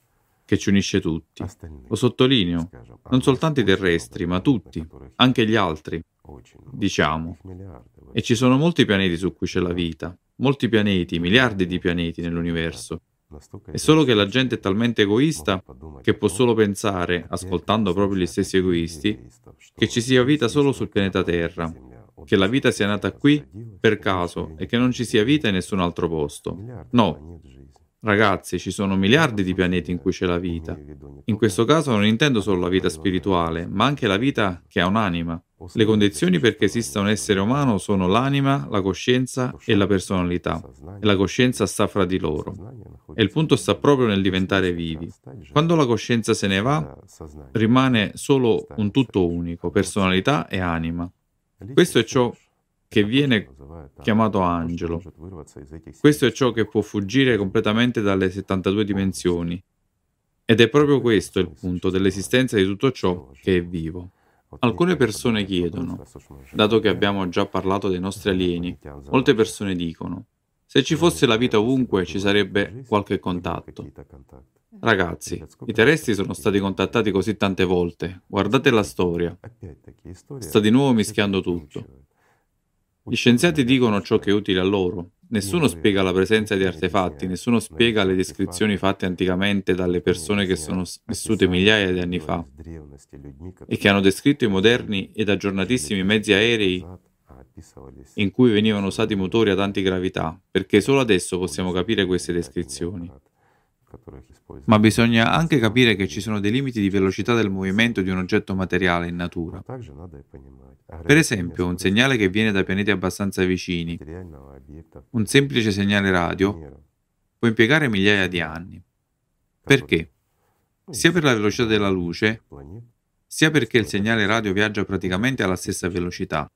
Speaker 2: che ci unisce tutti. Lo sottolineo, non soltanto i terrestri, ma tutti, anche gli altri, diciamo. E ci sono molti pianeti su cui c'è la vita, molti pianeti, miliardi di pianeti nell'universo. È solo che la gente è talmente egoista che può solo pensare, ascoltando proprio gli stessi egoisti, che ci sia vita solo sul pianeta Terra, che la vita sia nata qui per caso e che non ci sia vita in nessun altro posto. No. Ragazzi, ci sono miliardi di pianeti in cui c'è la vita. In questo caso non intendo solo la vita spirituale, ma anche la vita che ha un'anima. Le condizioni perché esista un essere umano sono l'anima, la coscienza e la personalità. E la coscienza sta fra di loro. E il punto sta proprio nel diventare vivi. Quando la coscienza se ne va, rimane solo un tutto unico, personalità e anima. Questo è ciò che viene chiamato angelo. Questo è ciò che può fuggire completamente dalle settantadue dimensioni. Ed è proprio questo il punto dell'esistenza di tutto ciò che è vivo. Alcune persone chiedono, dato che abbiamo già parlato dei nostri alieni, molte persone dicono, se ci fosse la vita ovunque ci sarebbe qualche contatto. Ragazzi, i terrestri sono stati contattati così tante volte, guardate la storia. Sta di nuovo mischiando tutto. Gli scienziati dicono ciò che è utile a loro. Nessuno spiega la presenza di artefatti, nessuno spiega le descrizioni fatte anticamente dalle persone che sono vissute migliaia di anni fa e che hanno descritto i moderni ed aggiornatissimi mezzi aerei in cui venivano usati motori ad antigravità, perché solo adesso possiamo capire queste descrizioni. Ma bisogna anche capire che ci sono dei limiti di velocità del movimento di un oggetto materiale in natura. Per esempio, un segnale che viene da pianeti abbastanza vicini, un semplice segnale radio, può impiegare migliaia di anni. Perché? Sia per la velocità della luce, sia perché il segnale radio viaggia praticamente alla stessa velocità.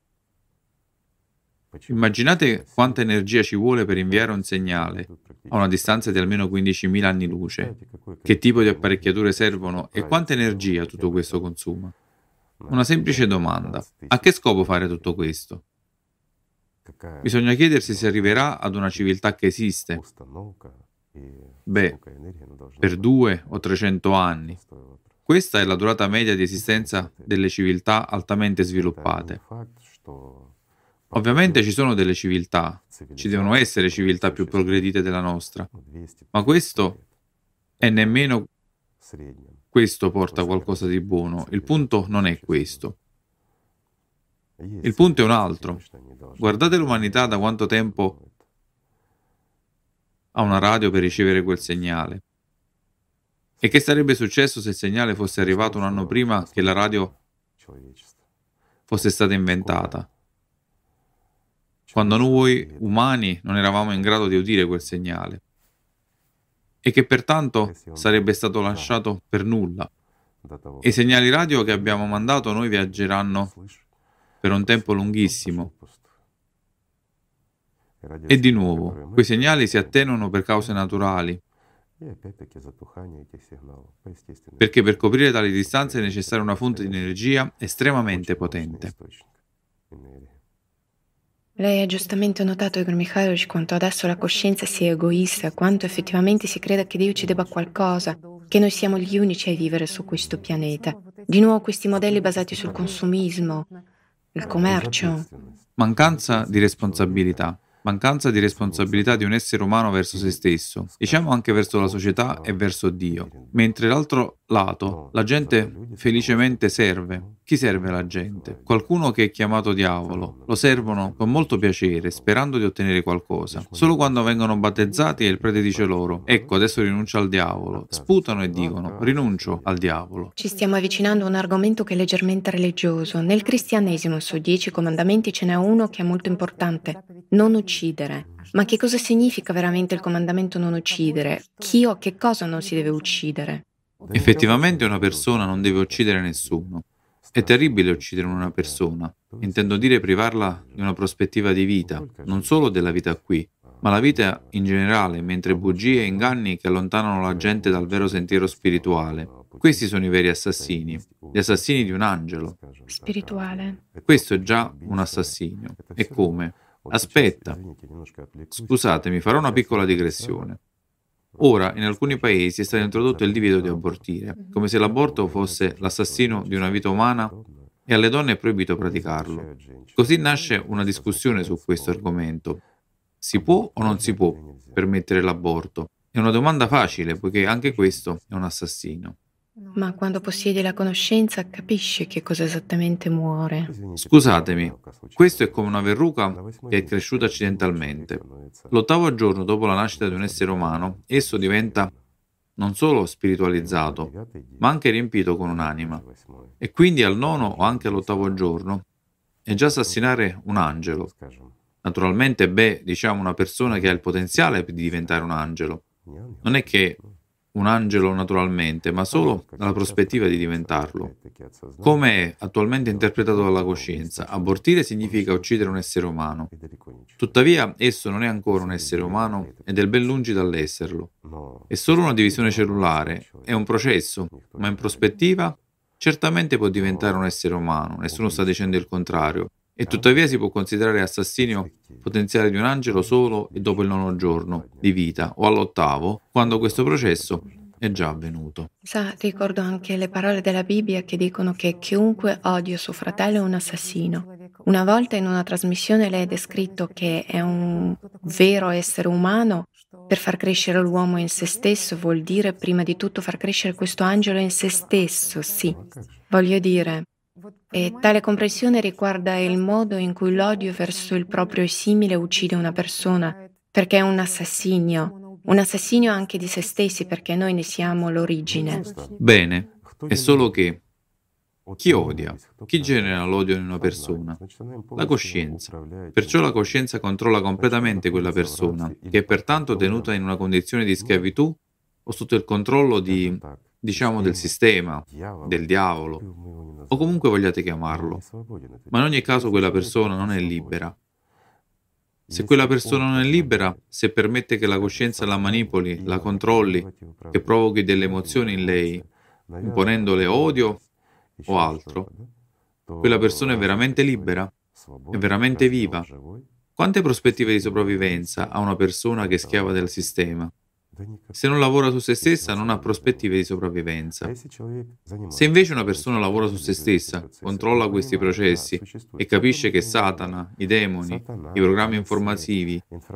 Speaker 2: Immaginate quanta energia ci vuole per inviare un segnale a una distanza di almeno quindicimila anni luce. Che tipo di apparecchiature servono e quanta energia tutto questo consuma? Una semplice domanda. A che scopo fare tutto questo? Bisogna chiedersi se arriverà ad una civiltà che esiste. Beh, per due o trecento anni. Questa è la durata media di esistenza delle civiltà altamente sviluppate. Ovviamente ci sono delle civiltà, ci devono essere civiltà più progredite della nostra, ma questo è nemmeno questo porta qualcosa di buono. Il punto non è questo. Il punto è un altro. Guardate l'umanità da quanto tempo ha una radio per ricevere quel segnale. E che sarebbe successo se il segnale fosse arrivato un anno prima che la radio fosse stata inventata? Quando noi umani non eravamo in grado di udire quel segnale e che pertanto sarebbe stato lasciato per nulla. E i segnali radio che abbiamo mandato a noi viaggeranno per un tempo lunghissimo. E di nuovo, quei segnali si attenuano per cause naturali, perché per coprire tali distanze è necessaria una fonte di energia estremamente potente.
Speaker 1: Lei ha giustamente notato, Igor Mikhailovich, quanto adesso la coscienza sia egoista, quanto effettivamente si creda che Dio ci debba qualcosa, che noi siamo gli unici a vivere su questo pianeta. Di nuovo questi modelli basati sul consumismo, il commercio.
Speaker 2: Mancanza di responsabilità. Mancanza di responsabilità di un essere umano verso se stesso, diciamo anche verso la società e verso Dio. Mentre l'altro lato, la gente felicemente serve. Chi serve la gente? Qualcuno che è chiamato diavolo. Lo servono con molto piacere, sperando di ottenere qualcosa. Solo quando vengono battezzati e il prete dice loro, ecco, adesso rinuncio al diavolo. Sputano e dicono, rinuncio al diavolo.
Speaker 1: Ci stiamo avvicinando a un argomento che è leggermente religioso. Nel cristianesimo, su dieci comandamenti, ce n'è uno che è molto importante. Non uccidere. Ma che cosa significa veramente il comandamento non uccidere? Chi o che cosa non si deve uccidere?
Speaker 2: Effettivamente una persona non deve uccidere nessuno. È terribile uccidere una persona. Intendo dire privarla di una prospettiva di vita, non solo della vita qui, ma la vita in generale, mentre bugie e inganni che allontanano la gente dal vero sentiero spirituale. Questi sono i veri assassini, gli assassini di un angelo.
Speaker 1: Spirituale.
Speaker 2: Questo è già un assassinio. E come? Aspetta. Scusatemi, farò una piccola digressione. Ora, in alcuni paesi è stato introdotto il divieto di abortire, come se l'aborto fosse l'assassino di una vita umana e alle donne è proibito praticarlo. Così nasce una discussione su questo argomento. Si può o non si può permettere l'aborto? È una domanda facile, poiché anche questo è un assassino.
Speaker 1: Ma quando possiedi la conoscenza capisci che cosa esattamente muore.
Speaker 2: Scusatemi, questo è come una verruca che è cresciuta accidentalmente. L'ottavo giorno dopo la nascita di un essere umano, esso diventa non solo spiritualizzato, ma anche riempito con un'anima. E quindi al nono o anche all'ottavo giorno è già assassinare un angelo. Naturalmente, beh, diciamo una persona che ha il potenziale di diventare un angelo. Non è che un angelo naturalmente, ma solo dalla prospettiva di diventarlo. Come è attualmente interpretato dalla coscienza, abortire significa uccidere un essere umano. Tuttavia, esso non è ancora un essere umano ed è ben lungi dall'esserlo. È solo una divisione cellulare, è un processo, ma in prospettiva certamente può diventare un essere umano, nessuno sta dicendo il contrario. E tuttavia si può considerare assassinio potenziale di un angelo solo e dopo il nono giorno di vita o all'ottavo, quando questo processo è già avvenuto.
Speaker 1: Sa, ricordo anche le parole della Bibbia che dicono che chiunque odia suo fratello è un assassino. Una volta in una trasmissione lei ha descritto che è un vero essere umano. Per far crescere l'uomo in se stesso vuol dire prima di tutto far crescere questo angelo in se stesso, sì. Voglio dire, e tale comprensione riguarda il modo in cui l'odio verso il proprio simile uccide una persona, perché è un assassinio, un assassinio anche di se stessi, perché noi ne siamo l'origine.
Speaker 2: Bene, è solo che chi odia? Chi genera l'odio in una persona? La coscienza. Perciò la coscienza controlla completamente quella persona, che è pertanto tenuta in una condizione di schiavitù o sotto il controllo di, diciamo, del sistema, del diavolo, o comunque vogliate chiamarlo. Ma in ogni caso quella persona non è libera. Se quella persona non è libera, se permette che la coscienza la manipoli, la controlli, che provochi delle emozioni in lei, imponendole odio o altro, quella persona è veramente libera? È veramente viva? Quante prospettive di sopravvivenza ha una persona che è schiava del sistema? Se non lavora su se stessa, non ha prospettive di sopravvivenza. Se invece una persona lavora su se stessa, controlla questi processi e capisce che Satana, i demoni, i programmi informativi,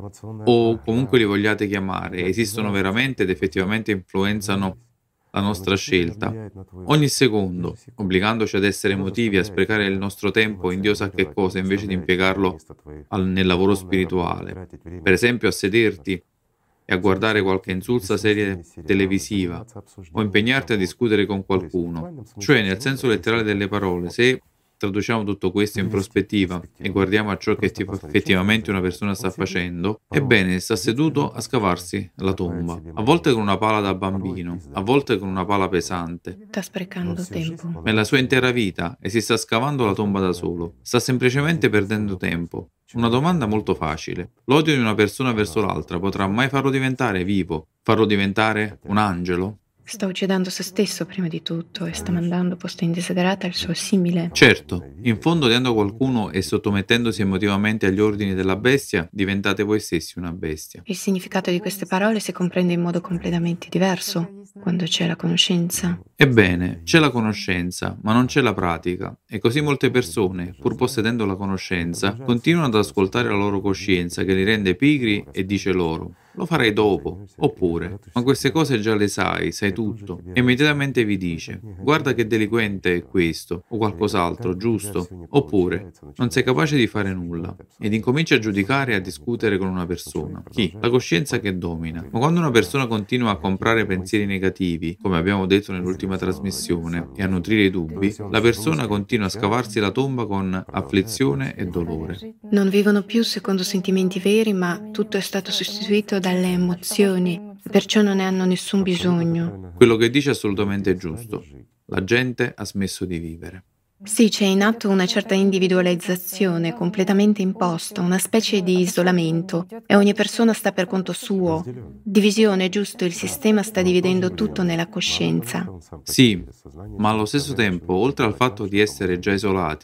Speaker 2: o comunque li vogliate chiamare, esistono veramente ed effettivamente influenzano la nostra scelta, ogni secondo, obbligandoci ad essere emotivi, a sprecare il nostro tempo in Dio sa che cosa, invece di impiegarlo al, nel lavoro spirituale. Per esempio a sederti e a guardare qualche insulsa serie televisiva o impegnarti a discutere con qualcuno. Cioè, nel senso letterale delle parole, se traduciamo tutto questo in prospettiva e guardiamo a ciò che effettivamente una persona sta facendo, ebbene, sta seduto a scavarsi la tomba, a volte con una pala da bambino, a volte con una pala pesante.
Speaker 1: Sta sprecando tempo.
Speaker 2: Nella sua intera vita e si sta scavando la tomba da solo. Sta semplicemente perdendo tempo. Una domanda molto facile. L'odio di una persona verso l'altra potrà mai farlo diventare vivo? Farlo diventare un angelo?
Speaker 1: Sta uccidendo se stesso prima di tutto e sta mandando posta indesiderata il suo simile.
Speaker 2: Certo, in fondo odiando qualcuno e sottomettendosi emotivamente agli ordini della bestia, diventate voi stessi una bestia.
Speaker 1: Il significato di queste parole si comprende in modo completamente diverso quando c'è la conoscenza.
Speaker 2: Ebbene, c'è la conoscenza, ma non c'è la pratica, e così molte persone, pur possedendo la conoscenza, continuano ad ascoltare la loro coscienza che li rende pigri e dice loro: lo farai dopo, oppure, ma queste cose già le sai, sai tutto, e immediatamente vi dice: guarda che delinquente è questo, o qualcos'altro, giusto, oppure, non sei capace di fare nulla, ed incomincia a giudicare e a discutere con una persona. Chi? La coscienza che domina. Ma quando una persona continua a comprare pensieri negativi, come abbiamo detto nell'ultima trasmissione, e a nutrire dubbi, la persona continua a scavarsi la tomba con afflizione e dolore.
Speaker 1: Non vivono più secondo sentimenti veri, ma tutto è stato sostituito dalle emozioni, perciò non ne hanno nessun bisogno.
Speaker 2: Quello che dice è assolutamente giusto. La gente ha smesso di vivere.
Speaker 1: Sì, c'è in atto una certa individualizzazione completamente imposta, una specie di isolamento, e ogni persona sta per conto suo. Divisione, giusto, il sistema sta dividendo tutto nella coscienza.
Speaker 2: Sì, ma allo stesso tempo, oltre al fatto di essere già isolati,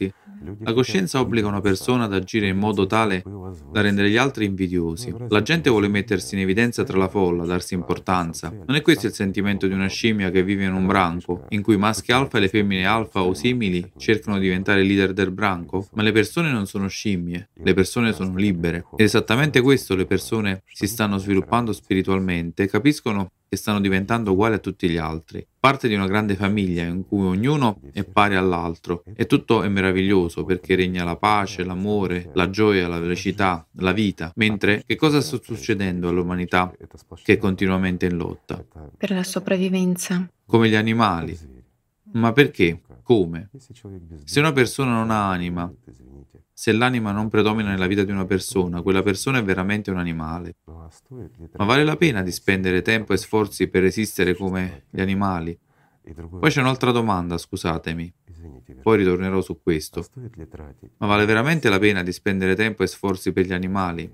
Speaker 2: La coscienza obbliga una persona ad agire in modo tale da rendere gli altri invidiosi. La gente vuole mettersi in evidenza tra la folla, darsi importanza. Non è questo il sentimento di una scimmia che vive in un branco, in cui i maschi alfa e le femmine alfa o simili cercano di diventare leader del branco? Ma le persone non sono scimmie, le persone sono libere. Ed esattamente questo le persone si stanno sviluppando spiritualmente, capiscono che stanno diventando uguali a tutti gli altri. Parte di una grande famiglia in cui ognuno è pari all'altro e tutto è meraviglioso perché regna la pace, l'amore, la gioia, la felicità, la vita. Mentre che cosa sta succedendo all'umanità che è continuamente in lotta?
Speaker 1: Per la sopravvivenza.
Speaker 2: Come gli animali. Ma perché? Come? Se una persona non ha anima, se l'anima non predomina nella vita di una persona, quella persona è veramente un animale. Ma vale la pena di spendere tempo e sforzi per resistere come gli animali? Poi c'è un'altra domanda, scusatemi. Poi ritornerò su questo. Ma vale veramente la pena di spendere tempo e sforzi per gli animali?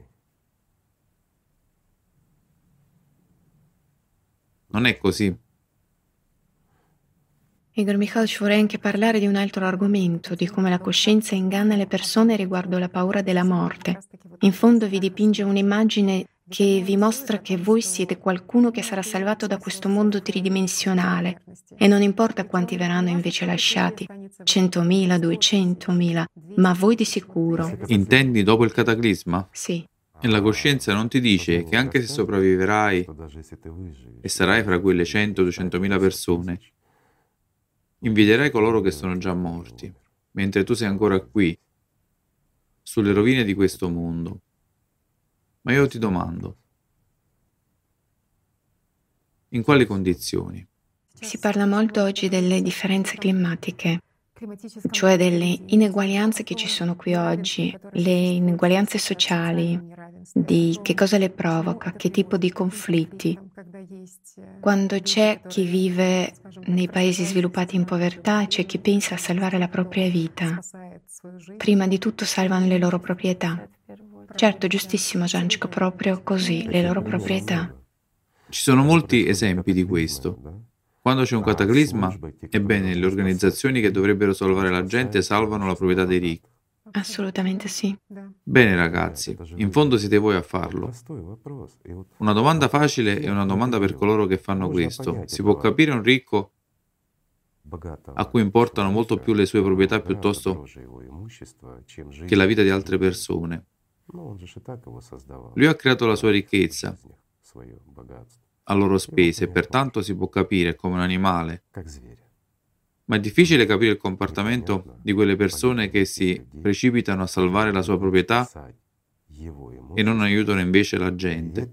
Speaker 2: Non è così.
Speaker 1: Igor Mikhailovich, vorrei anche parlare di un altro argomento, di come la coscienza inganna le persone riguardo la paura della morte. In fondo vi dipinge un'immagine che vi mostra che voi siete qualcuno che sarà salvato da questo mondo tridimensionale e non importa quanti verranno invece lasciati, centomila, duecentomila, ma voi di sicuro.
Speaker 2: Intendi dopo il cataclisma?
Speaker 1: Sì.
Speaker 2: E la coscienza non ti dice che anche se sopravviverai e sarai fra quelle cento duecentomila persone, invidierai coloro che sono già morti, mentre tu sei ancora qui, sulle rovine di questo mondo. Ma io ti domando, in quali condizioni?
Speaker 1: Si parla molto oggi delle differenze climatiche, cioè delle ineguaglianze che ci sono qui oggi, le ineguaglianze sociali, di che cosa le provoca, che tipo di conflitti. Quando c'è chi vive nei paesi sviluppati in povertà, c'è chi pensa a salvare la propria vita. Prima di tutto salvano le loro proprietà. Certo, giustissimo Janchko, proprio così, le loro proprietà.
Speaker 2: Ci sono molti esempi di questo. Quando c'è un cataclisma, ebbene, le organizzazioni che dovrebbero salvare la gente salvano la proprietà dei ricchi.
Speaker 1: Assolutamente sì.
Speaker 2: Bene ragazzi, in fondo siete voi a farlo. Una domanda facile e una domanda per coloro che fanno questo. Si può capire un ricco a cui importano molto più le sue proprietà piuttosto che la vita di altre persone? Lui ha creato la sua ricchezza a loro spese e pertanto si può capire come un animale. Ma è difficile capire il comportamento di quelle persone che si precipitano a salvare la sua proprietà e non aiutano invece la gente.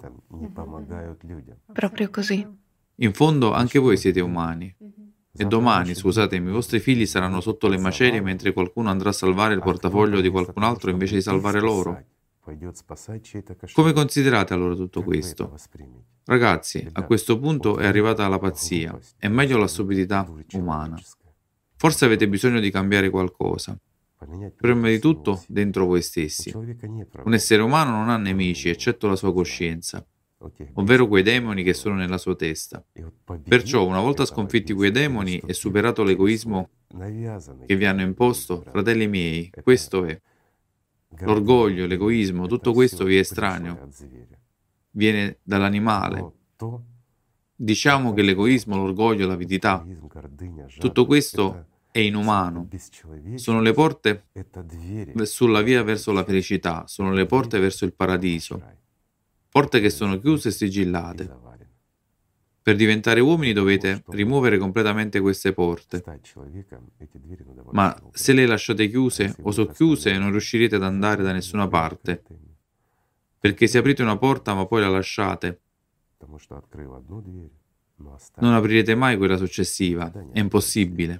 Speaker 1: Proprio così.
Speaker 2: In fondo anche voi siete umani. E domani, scusatemi, i vostri figli saranno sotto le macerie mentre qualcuno andrà a salvare il portafoglio di qualcun altro invece di salvare loro. Come considerate allora tutto questo? Ragazzi, a questo punto è arrivata la pazzia, è meglio la stupidità umana. Forse avete bisogno di cambiare qualcosa. Prima di tutto dentro voi stessi. Un essere umano non ha nemici eccetto la sua coscienza, ovvero quei demoni che sono nella sua testa. Perciò, una volta sconfitti quei demoni e superato l'egoismo che vi hanno imposto, fratelli miei, questo è. L'orgoglio, l'egoismo, tutto questo vi è estraneo. Viene dall'animale. Diciamo che l'egoismo, l'orgoglio, l'avidità, tutto questo è inumano. Sono le porte sulla via verso la felicità, sono le porte verso il paradiso. Porte che sono chiuse e sigillate. Per diventare uomini dovete rimuovere completamente queste porte. Ma se le lasciate chiuse o socchiuse non riuscirete ad andare da nessuna parte. Perché se aprite una porta ma poi la lasciate, non aprirete mai quella successiva. È impossibile.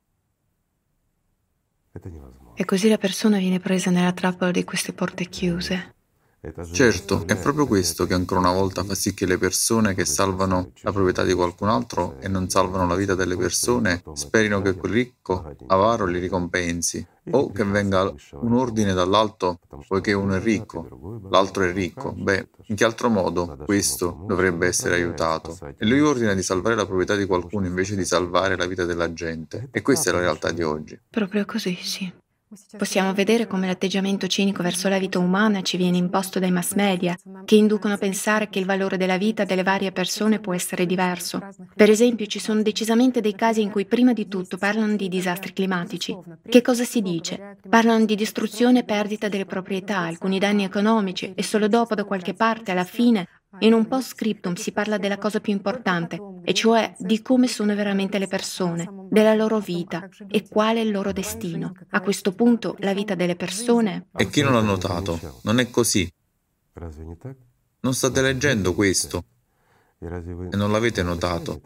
Speaker 1: E così la persona viene presa nella trappola di queste porte chiuse.
Speaker 2: Certo, è proprio questo che ancora una volta fa sì che le persone che salvano la proprietà di qualcun altro e non salvano la vita delle persone sperino che quel ricco avaro li ricompensi o che venga un ordine dall'alto poiché uno è ricco, l'altro è ricco. Beh, in che altro modo questo dovrebbe essere aiutato? E lui ordina di salvare la proprietà di qualcuno invece di salvare la vita della gente. E questa è la realtà di oggi.
Speaker 1: Proprio così, sì. Possiamo vedere come l'atteggiamento cinico verso la vita umana ci viene imposto dai mass media, che inducono a pensare che il valore della vita delle varie persone può essere diverso. Per esempio, ci sono decisamente dei casi in cui prima di tutto parlano di disastri climatici. Che cosa si dice? Parlano di distruzione e perdita delle proprietà, alcuni danni economici, e solo dopo, da qualche parte, alla fine, in un post scriptum si parla della cosa più importante, e cioè di come sono veramente le persone, della loro vita e qual è il loro destino. A questo punto la vita delle persone...
Speaker 2: E chi non l'ha notato? Non è così. Non state leggendo questo e non l'avete notato.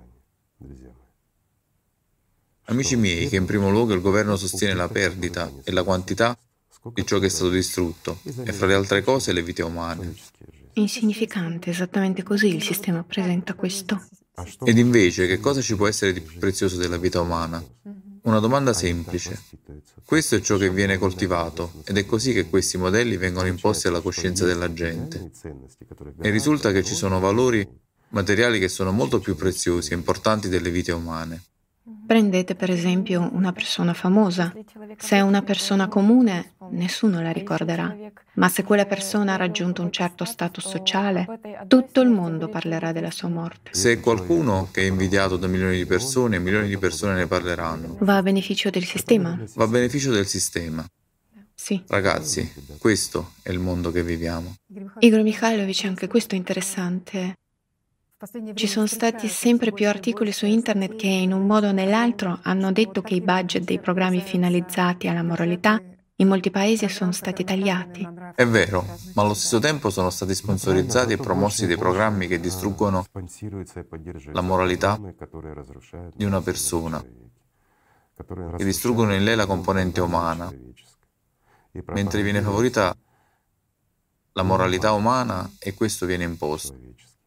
Speaker 2: Amici miei, che in primo luogo il governo sostiene la perdita e la quantità di ciò che è stato distrutto e fra le altre cose le vite umane.
Speaker 1: Insignificante, esattamente così il sistema presenta questo.
Speaker 2: Ed invece, che cosa ci può essere di più prezioso della vita umana? Una domanda semplice. Questo è ciò che viene coltivato ed è così che questi modelli vengono imposti alla coscienza della gente. E risulta che ci sono valori materiali che sono molto più preziosi e importanti delle vite umane.
Speaker 1: Prendete per esempio una persona famosa. Se è una persona comune, nessuno la ricorderà. Ma se quella persona ha raggiunto un certo status sociale, tutto il mondo parlerà della sua morte.
Speaker 2: Se è qualcuno che è invidiato da milioni di persone, milioni di persone ne parleranno.
Speaker 1: Va a beneficio del sistema?
Speaker 2: Va a beneficio del sistema.
Speaker 1: Sì.
Speaker 2: Ragazzi, questo è il mondo che viviamo.
Speaker 1: Igor Mikhailovich, anche questo è interessante. Ci sono stati sempre più articoli su internet che in un modo o nell'altro hanno detto che i budget dei programmi finalizzati alla moralità in molti paesi sono stati tagliati.
Speaker 2: È vero, ma allo stesso tempo sono stati sponsorizzati e promossi dei programmi che distruggono la moralità di una persona, che distruggono in lei la componente umana, mentre viene favorita la moralità umana e questo viene imposto.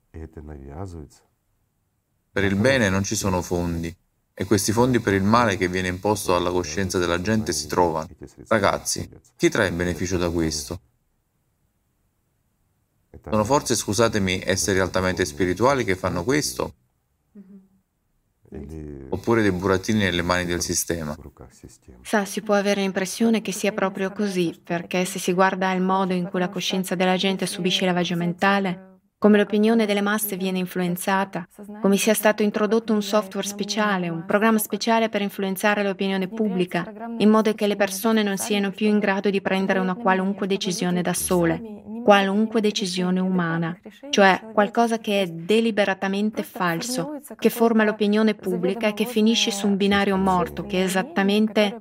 Speaker 2: Per il bene non ci sono fondi e questi fondi per il male che viene imposto alla coscienza della gente si trovano. Ragazzi, chi trae beneficio da questo? Sono forse, scusatemi, esseri altamente spirituali che fanno questo? Oppure dei burattini nelle mani del sistema?
Speaker 1: Sa, si può avere l'impressione che sia proprio così, perché se si guarda al modo in cui la coscienza della gente subisce lavaggio mentale, come l'opinione delle masse viene influenzata, come sia stato introdotto un software speciale, un programma speciale per influenzare l'opinione pubblica, in modo che le persone non siano più in grado di prendere una qualunque decisione da sole, qualunque decisione umana, cioè qualcosa che è deliberatamente falso, che forma l'opinione pubblica e che finisce su un binario morto, che esattamente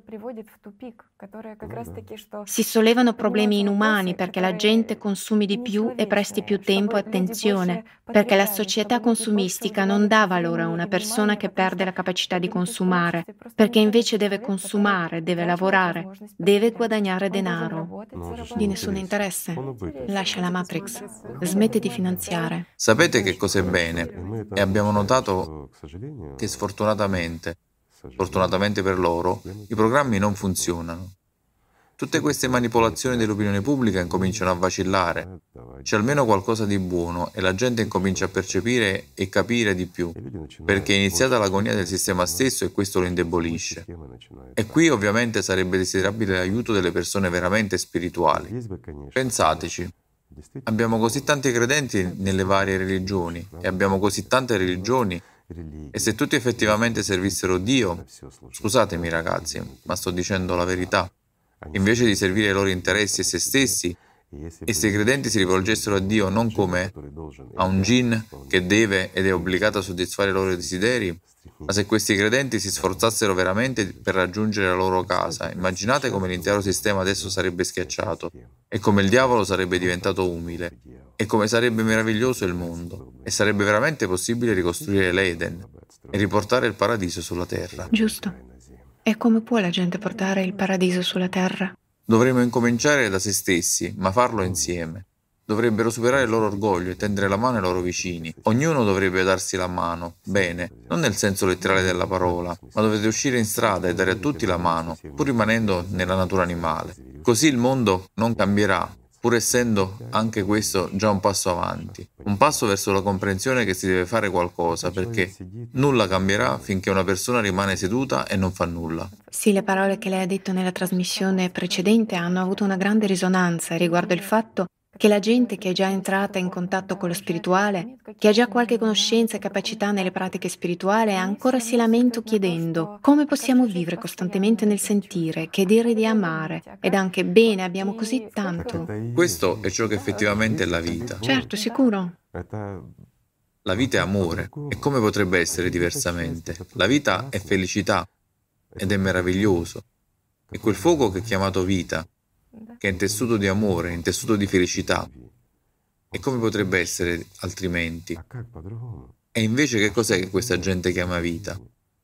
Speaker 1: si sollevano problemi inumani perché la gente consumi di più e presti più tempo e attenzione, perché la società consumistica non dà valore a una persona che perde la capacità di consumare, perché invece deve consumare, deve lavorare, deve guadagnare denaro. Di nessun interesse. Lascia la Matrix. Smette di finanziare.
Speaker 2: Sapete che cos'è bene? E abbiamo notato che sfortunatamente, fortunatamente per loro, i programmi non funzionano. Tutte queste manipolazioni dell'opinione pubblica incominciano a vacillare. C'è almeno qualcosa di buono e la gente incomincia a percepire e capire di più, perché è iniziata l'agonia del sistema stesso e questo lo indebolisce. E qui ovviamente sarebbe desiderabile l'aiuto delle persone veramente spirituali. Pensateci. Abbiamo così tanti credenti nelle varie religioni e abbiamo così tante religioni e se tutti effettivamente servissero Dio, scusatemi ragazzi, ma sto dicendo la verità, invece di servire i loro interessi e se stessi, e se i credenti si rivolgessero a Dio non come a un djinn che deve ed è obbligato a soddisfare i loro desideri, ma se questi credenti si sforzassero veramente per raggiungere la loro casa, immaginate come l'intero sistema adesso sarebbe schiacciato e come il diavolo sarebbe diventato umile e come sarebbe meraviglioso il mondo e sarebbe veramente possibile ricostruire l'Eden e riportare il paradiso sulla terra.
Speaker 1: Giusto. E come può la gente portare il paradiso sulla terra?
Speaker 2: Dovremmo incominciare da se stessi, ma farlo insieme. Dovrebbero superare il loro orgoglio e tendere la mano ai loro vicini. Ognuno dovrebbe darsi la mano, bene, non nel senso letterale della parola, ma dovete uscire in strada e dare a tutti la mano, pur rimanendo nella natura animale. Così il mondo non cambierà, pur essendo anche questo già un passo avanti, un passo verso la comprensione che si deve fare qualcosa, perché nulla cambierà finché una persona rimane seduta e non fa nulla.
Speaker 1: Sì, le parole che lei ha detto nella trasmissione precedente hanno avuto una grande risonanza riguardo il fatto che la gente che è già entrata in contatto con lo spirituale, che ha già qualche conoscenza e capacità nelle pratiche spirituali, ancora si lamenta chiedendo come possiamo vivere costantemente nel sentire, che dire di amare, ed anche bene, abbiamo così tanto.
Speaker 2: Questo è ciò che effettivamente è la vita.
Speaker 1: Certo, sicuro.
Speaker 2: La vita è amore, e come potrebbe essere diversamente? La vita è felicità, ed è meraviglioso. E quel fuoco che è chiamato vita, che è intessuto di amore, intessuto di felicità. E come potrebbe essere altrimenti? E invece che cos'è che questa gente chiama vita?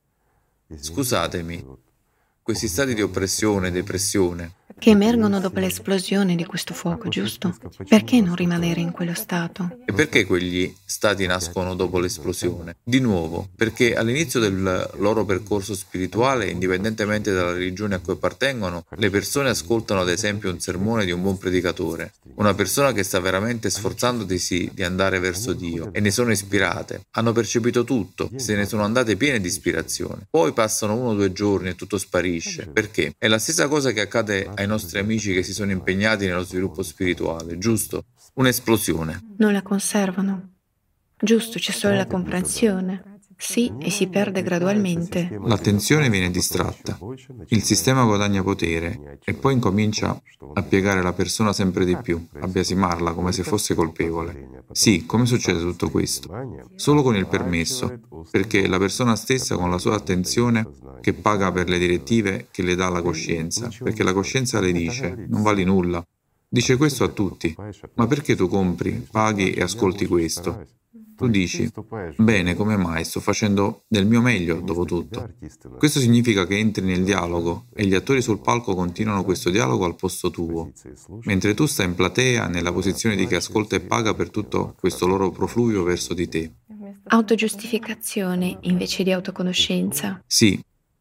Speaker 2: Scusatemi, questi stati di oppressione e depressione,
Speaker 1: Che emergono dopo l'esplosione di questo fuoco, giusto? Perché non rimanere in quello stato?
Speaker 2: e perché quegli stati nascono dopo l'esplosione? Di nuovo, perché all'inizio del loro percorso spirituale, indipendentemente dalla religione a cui appartengono, le persone ascoltano ad esempio un sermone di un buon predicatore, una persona che sta veramente sforzandosi di andare verso Dio, e ne sono ispirate, hanno percepito tutto, se ne sono andate piene di ispirazione. Poi passano uno o due giorni e tutto sparisce. Perché? È la stessa cosa che accade ai nostri amici che si sono impegnati nello sviluppo spirituale, giusto? Un'esplosione.
Speaker 1: Non la conservano. Giusto, c'è solo la comprensione. Sì, e si perde gradualmente.
Speaker 2: L'attenzione viene distratta, il sistema guadagna potere e poi incomincia a piegare la persona sempre di più, a biasimarla come se fosse colpevole. Sì, come succede tutto questo? Solo con il permesso, perché è la persona stessa con la sua attenzione che paga per le direttive che le dà la coscienza, perché la coscienza le dice non vali nulla. Dice questo a tutti, ma perché tu compri, paghi e ascolti questo? Tu dici, bene, come mai? Sto facendo del mio meglio, dopo tutto. Questo significa che entri nel dialogo e gli attori sul palco continuano questo dialogo al posto tuo, mentre tu stai in platea nella posizione di chi ascolta e paga per tutto questo loro profluvio verso di te.
Speaker 1: Autogiustificazione invece di autoconoscenza.
Speaker 2: Sì.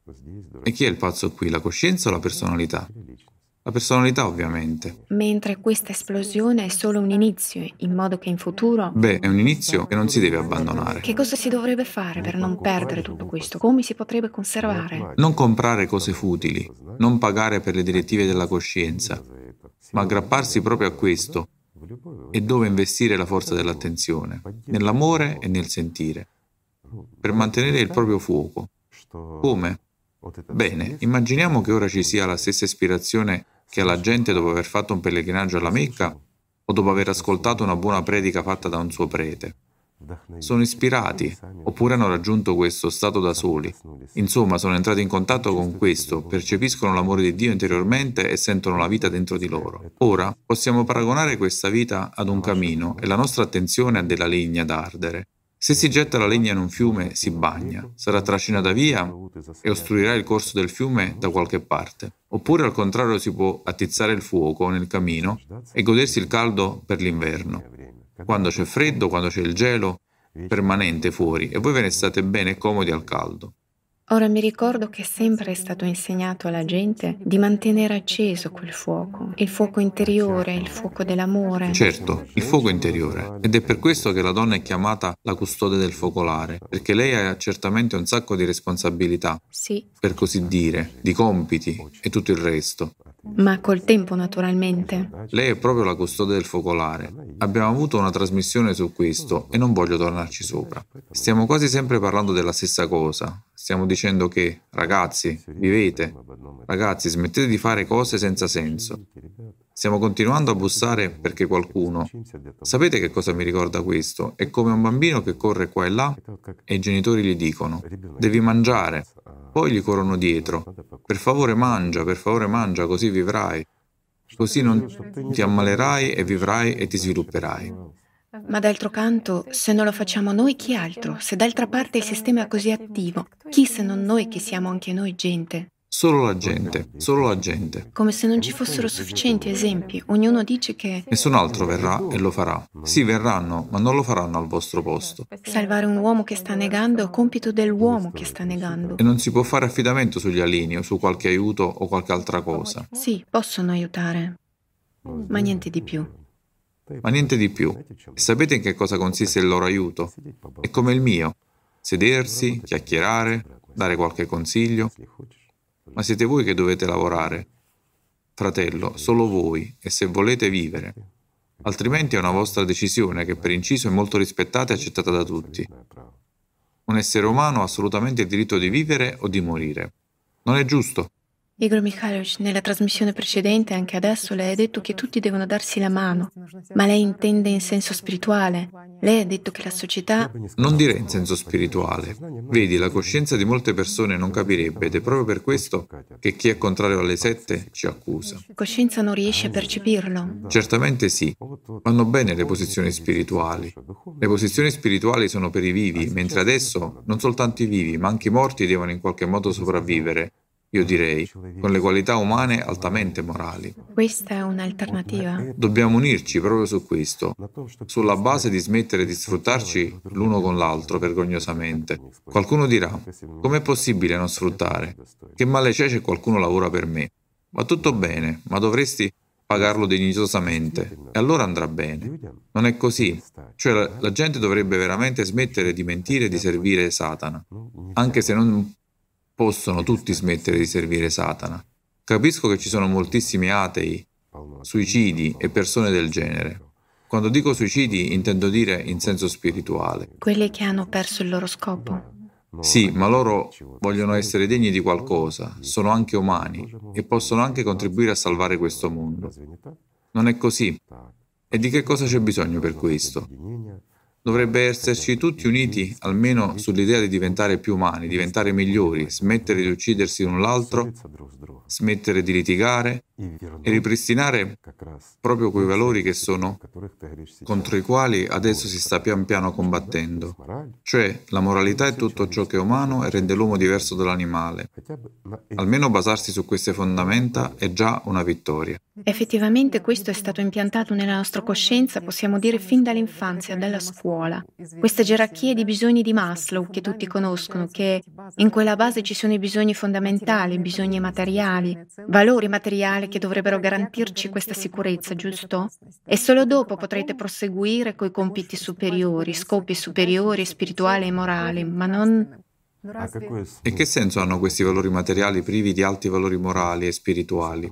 Speaker 2: E chi è il pazzo qui, la coscienza o la personalità? La personalità, ovviamente.
Speaker 1: Mentre questa esplosione è solo un inizio, in modo che in futuro...
Speaker 2: Beh, è un inizio che non si deve abbandonare.
Speaker 1: Che cosa si dovrebbe fare per non perdere tutto questo? Come si potrebbe conservare?
Speaker 2: Non comprare cose futili, non pagare per le direttive della coscienza, ma aggrapparsi proprio a questo e dove investire la forza dell'attenzione, nell'amore e nel sentire, per mantenere il proprio fuoco. Come? Bene, immaginiamo che ora ci sia la stessa ispirazione che ha la gente dopo aver fatto un pellegrinaggio alla Mecca o dopo aver ascoltato una buona predica fatta da un suo prete. Sono ispirati, oppure hanno raggiunto questo stato da soli. Insomma, sono entrati in contatto con questo, percepiscono l'amore di Dio interiormente e sentono la vita dentro di loro. Ora, possiamo paragonare questa vita ad un camino e la nostra attenzione a della legna da ardere. Se si getta la legna in un fiume, si bagna, sarà trascinata via e ostruirà il corso del fiume da qualche parte. Oppure al contrario si può attizzare il fuoco nel camino e godersi il caldo per l'inverno. Quando c'è freddo, quando c'è il gelo permanente fuori e voi ve ne state bene e comodi al caldo.
Speaker 1: Ora mi ricordo che sempre è stato insegnato alla gente di mantenere acceso quel fuoco, il fuoco interiore, il fuoco dell'amore.
Speaker 2: Certo, il fuoco interiore. Ed è per questo che la donna è chiamata la custode del focolare, perché lei ha certamente un sacco di responsabilità,
Speaker 1: sì,
Speaker 2: per così dire, di compiti e tutto il resto.
Speaker 1: Ma col tempo, naturalmente.
Speaker 2: Lei è proprio la custode del focolare. Abbiamo avuto una trasmissione su questo e non voglio tornarci sopra. Stiamo quasi sempre parlando della stessa cosa. Stiamo dicendo che, ragazzi, vivete. Ragazzi, smettete di fare cose senza senso. Stiamo continuando a bussare perché qualcuno... Sapete che cosa mi ricorda questo? È come un bambino che corre qua e là e i genitori gli dicono «Devi mangiare». Poi gli corrono dietro «Per favore mangia, per favore mangia, così vivrai». Così non ti ammalerai e vivrai e ti svilupperai.
Speaker 1: Ma d'altro canto, se non lo facciamo noi, chi altro? Se d'altra parte il sistema è così attivo, chi se non noi che siamo anche noi gente?
Speaker 2: Solo la gente, solo la gente.
Speaker 1: Come se non ci fossero sufficienti esempi. Ognuno dice che...
Speaker 2: Nessun altro verrà e lo farà. Sì, verranno, ma non lo faranno al vostro posto.
Speaker 1: Salvare un uomo che sta negando è compito dell'uomo che sta negando.
Speaker 2: E non si può fare affidamento sugli alieni o su qualche aiuto o qualche altra cosa.
Speaker 1: Sì, possono aiutare. ma niente di più.
Speaker 2: Ma niente di più. E sapete in che cosa consiste il loro aiuto? È come il mio. Sedersi, chiacchierare, dare qualche consiglio. Ma siete voi che dovete lavorare. Fratello, solo voi, e se volete vivere. Altrimenti è una vostra decisione che per inciso è molto rispettata e accettata da tutti. Un essere umano ha assolutamente il diritto di vivere o di morire. Non è giusto?
Speaker 1: Igor Mikhailovich, nella trasmissione precedente, anche adesso, lei ha detto che tutti devono darsi la mano, ma lei intende in senso spirituale. Lei ha detto che la società...
Speaker 2: Non direi in senso spirituale. Vedi, la coscienza di molte persone non capirebbe ed è proprio per questo che chi è contrario alle sette ci accusa.
Speaker 1: La coscienza non riesce a percepirlo.
Speaker 2: Certamente sì. Vanno bene le posizioni spirituali. Le posizioni spirituali sono per i vivi, mentre adesso non soltanto i vivi, ma anche i morti devono in qualche modo sopravvivere. Io direi, con le qualità umane altamente morali.
Speaker 1: Questa è un'alternativa.
Speaker 2: Dobbiamo unirci proprio su questo, sulla base di smettere di sfruttarci l'uno con l'altro vergognosamente. Qualcuno dirà, com'è possibile non sfruttare? Che male c'è se qualcuno lavora per me? Va tutto bene, ma dovresti pagarlo dignitosamente, e allora andrà bene. Non è così. Cioè la, la gente dovrebbe veramente smettere di mentire e di servire Satana, anche se non possono tutti smettere di servire Satana. Capisco che ci sono moltissimi atei, suicidi e persone del genere. Quando dico suicidi intendo dire in senso spirituale.
Speaker 1: Quelli che hanno perso il loro scopo.
Speaker 2: Sì, ma loro vogliono essere degni di qualcosa, sono anche umani e possono anche contribuire a salvare questo mondo. Non è così. E di che cosa c'è bisogno per questo? Dovrebbe esserci tutti uniti almeno sull'idea di diventare più umani, diventare migliori, smettere di uccidersi l'un l'altro, smettere di litigare e ripristinare proprio quei valori che sono contro i quali adesso si sta pian piano combattendo. Cioè, la moralità è tutto ciò che è umano e rende l'uomo diverso dall'animale. Almeno basarsi su queste fondamenta è già una vittoria.
Speaker 1: Effettivamente questo è stato impiantato nella nostra coscienza, possiamo dire fin dall'infanzia, dalla scuola. Queste gerarchie di bisogni di Maslow che tutti conoscono, che in quella base ci sono i bisogni fondamentali, bisogni materiali, valori materiali che dovrebbero garantirci questa sicurezza, giusto? E solo dopo potrete proseguire coi compiti superiori, scopi superiori, spirituali e morali, ma non...
Speaker 2: E che senso hanno questi valori materiali privi di alti valori morali e spirituali?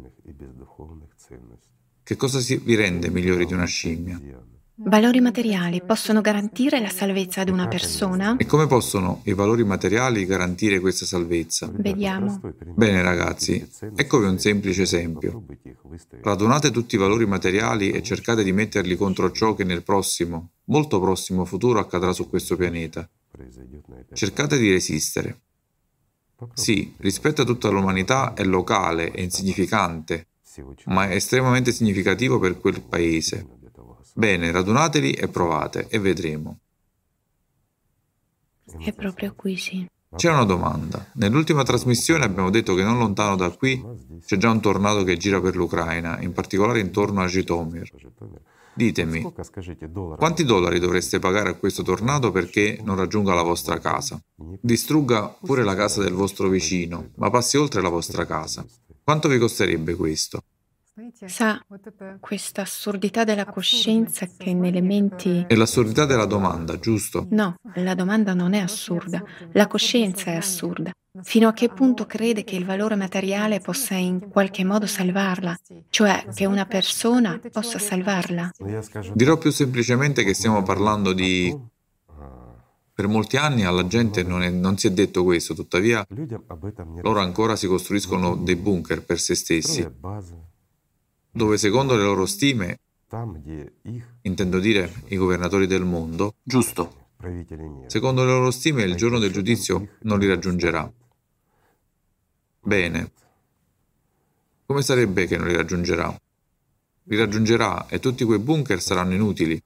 Speaker 2: Che cosa si vi rende migliori di una scimmia?
Speaker 1: Valori materiali possono garantire la salvezza ad una persona?
Speaker 2: E come possono i valori materiali garantire questa salvezza?
Speaker 1: Vediamo.
Speaker 2: Bene ragazzi, eccovi un semplice esempio. Radunate tutti i valori materiali e cercate di metterli contro ciò che nel prossimo, molto prossimo futuro accadrà su questo pianeta. Cercate di resistere. Sì, rispetto a tutta l'umanità è locale, è insignificante, ma è estremamente significativo per quel paese. Bene, radunateli e provate, e vedremo.
Speaker 1: È proprio qui, sì.
Speaker 2: C'è una domanda. Nell'ultima trasmissione abbiamo detto che non lontano da qui c'è già un tornado che gira per l'Ucraina, in particolare intorno a Žytomyr. Ditemi, quanti dollari dovreste pagare a questo tornado perché non raggiunga la vostra casa? Distrugga pure la casa del vostro vicino, ma passi oltre la vostra casa. Quanto vi costerebbe questo?
Speaker 1: Sa, questa assurdità della coscienza che nelle menti...
Speaker 2: È l'assurdità della domanda, giusto?
Speaker 1: No, la domanda non è assurda, la coscienza è assurda. Fino a che punto crede che il valore materiale possa in qualche modo salvarla, cioè che una persona possa salvarla?
Speaker 2: Dirò più semplicemente che stiamo parlando di... Per molti anni alla gente non, è, non si è detto questo, tuttavia loro ancora si costruiscono dei bunker per se stessi, dove secondo le loro stime, intendo dire i governatori del mondo, giusto, secondo le loro stime il giorno del giudizio non li raggiungerà. Bene. Come sarebbe che non li raggiungerà? Li raggiungerà e tutti quei bunker saranno inutili.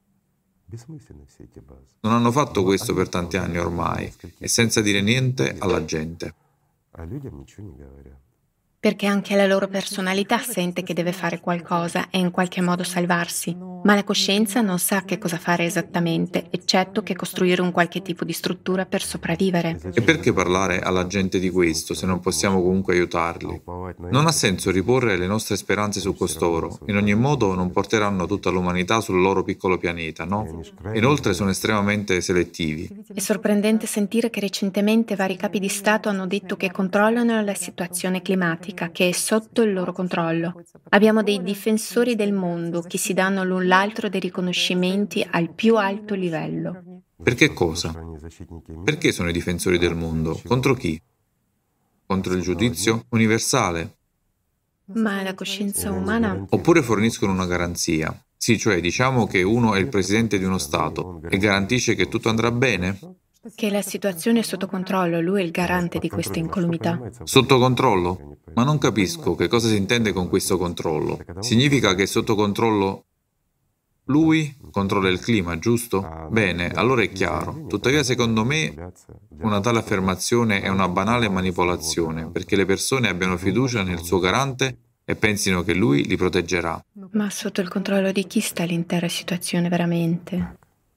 Speaker 2: Non hanno fatto questo per tanti anni ormai e senza dire niente alla gente.
Speaker 1: perché anche la loro personalità sente che deve fare qualcosa e in qualche modo salvarsi, ma la coscienza non sa che cosa fare esattamente, eccetto che costruire un qualche tipo di struttura per sopravvivere.
Speaker 2: E perché parlare alla gente di questo se non possiamo comunque aiutarli? Non ha senso riporre le nostre speranze su costoro, in ogni modo non porteranno tutta l'umanità sul loro piccolo pianeta, no? Inoltre sono estremamente selettivi.
Speaker 1: È sorprendente sentire che recentemente vari capi di Stato hanno detto che controllano la situazione climatica, che è sotto il loro controllo. Abbiamo dei difensori del mondo che si danno l'un l'altro dei riconoscimenti al più alto livello.
Speaker 2: Perché cosa? Perché sono i difensori del mondo? Contro chi? Contro il giudizio universale?
Speaker 1: Ma la coscienza umana...
Speaker 2: Oppure forniscono una garanzia? Sì, cioè diciamo che uno è il presidente di uno Stato e garantisce che tutto andrà bene?
Speaker 1: Che la situazione è sotto controllo, lui è il garante di questa incolumità.
Speaker 2: Sotto controllo? Ma non capisco che cosa si intende con questo controllo. Significa che è sotto controllo lui controlla il clima, giusto? Bene, allora è chiaro. Tuttavia, secondo me, una tale affermazione è una banale manipolazione, perché le persone abbiano fiducia nel suo garante e pensino che lui li proteggerà.
Speaker 1: Ma sotto il controllo di chi sta l'intera situazione veramente?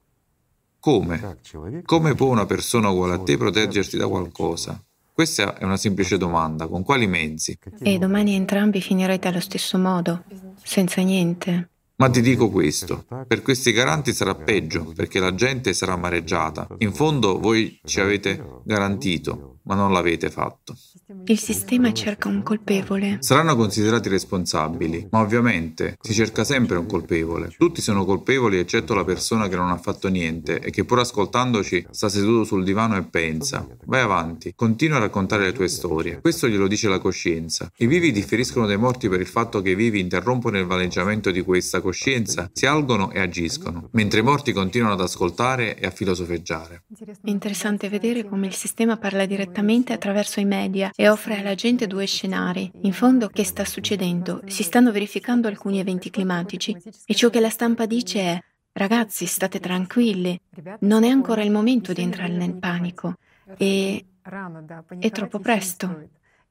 Speaker 2: Come? Come può una persona uguale a te proteggerti da qualcosa? Questa è una semplice domanda. Con quali mezzi?
Speaker 1: E domani entrambi finirete allo stesso modo, senza niente.
Speaker 2: Ma ti dico questo, per questi garanti sarà peggio, perché la gente sarà amareggiata. In fondo voi ci avete garantito, ma non l'avete fatto.
Speaker 1: Il sistema cerca un colpevole.
Speaker 2: Saranno considerati responsabili, ma ovviamente si cerca sempre un colpevole. Tutti sono colpevoli eccetto la persona che non ha fatto niente e che pur ascoltandoci sta seduto sul divano e pensa. Vai avanti, continua a raccontare le tue storie. Questo glielo dice la coscienza. I vivi differiscono dai morti per il fatto che i vivi interrompono il valeggiamento di questa coscienza, si algono e agiscono, mentre i morti continuano ad ascoltare e a filosofeggiare.
Speaker 1: È interessante vedere come il sistema parla direttamente attraverso i media e offre alla gente due scenari. In fondo, che sta succedendo? Si stanno verificando alcuni eventi climatici e ciò che la stampa dice è: ragazzi, state tranquilli, non è ancora il momento di entrare nel panico e è troppo presto.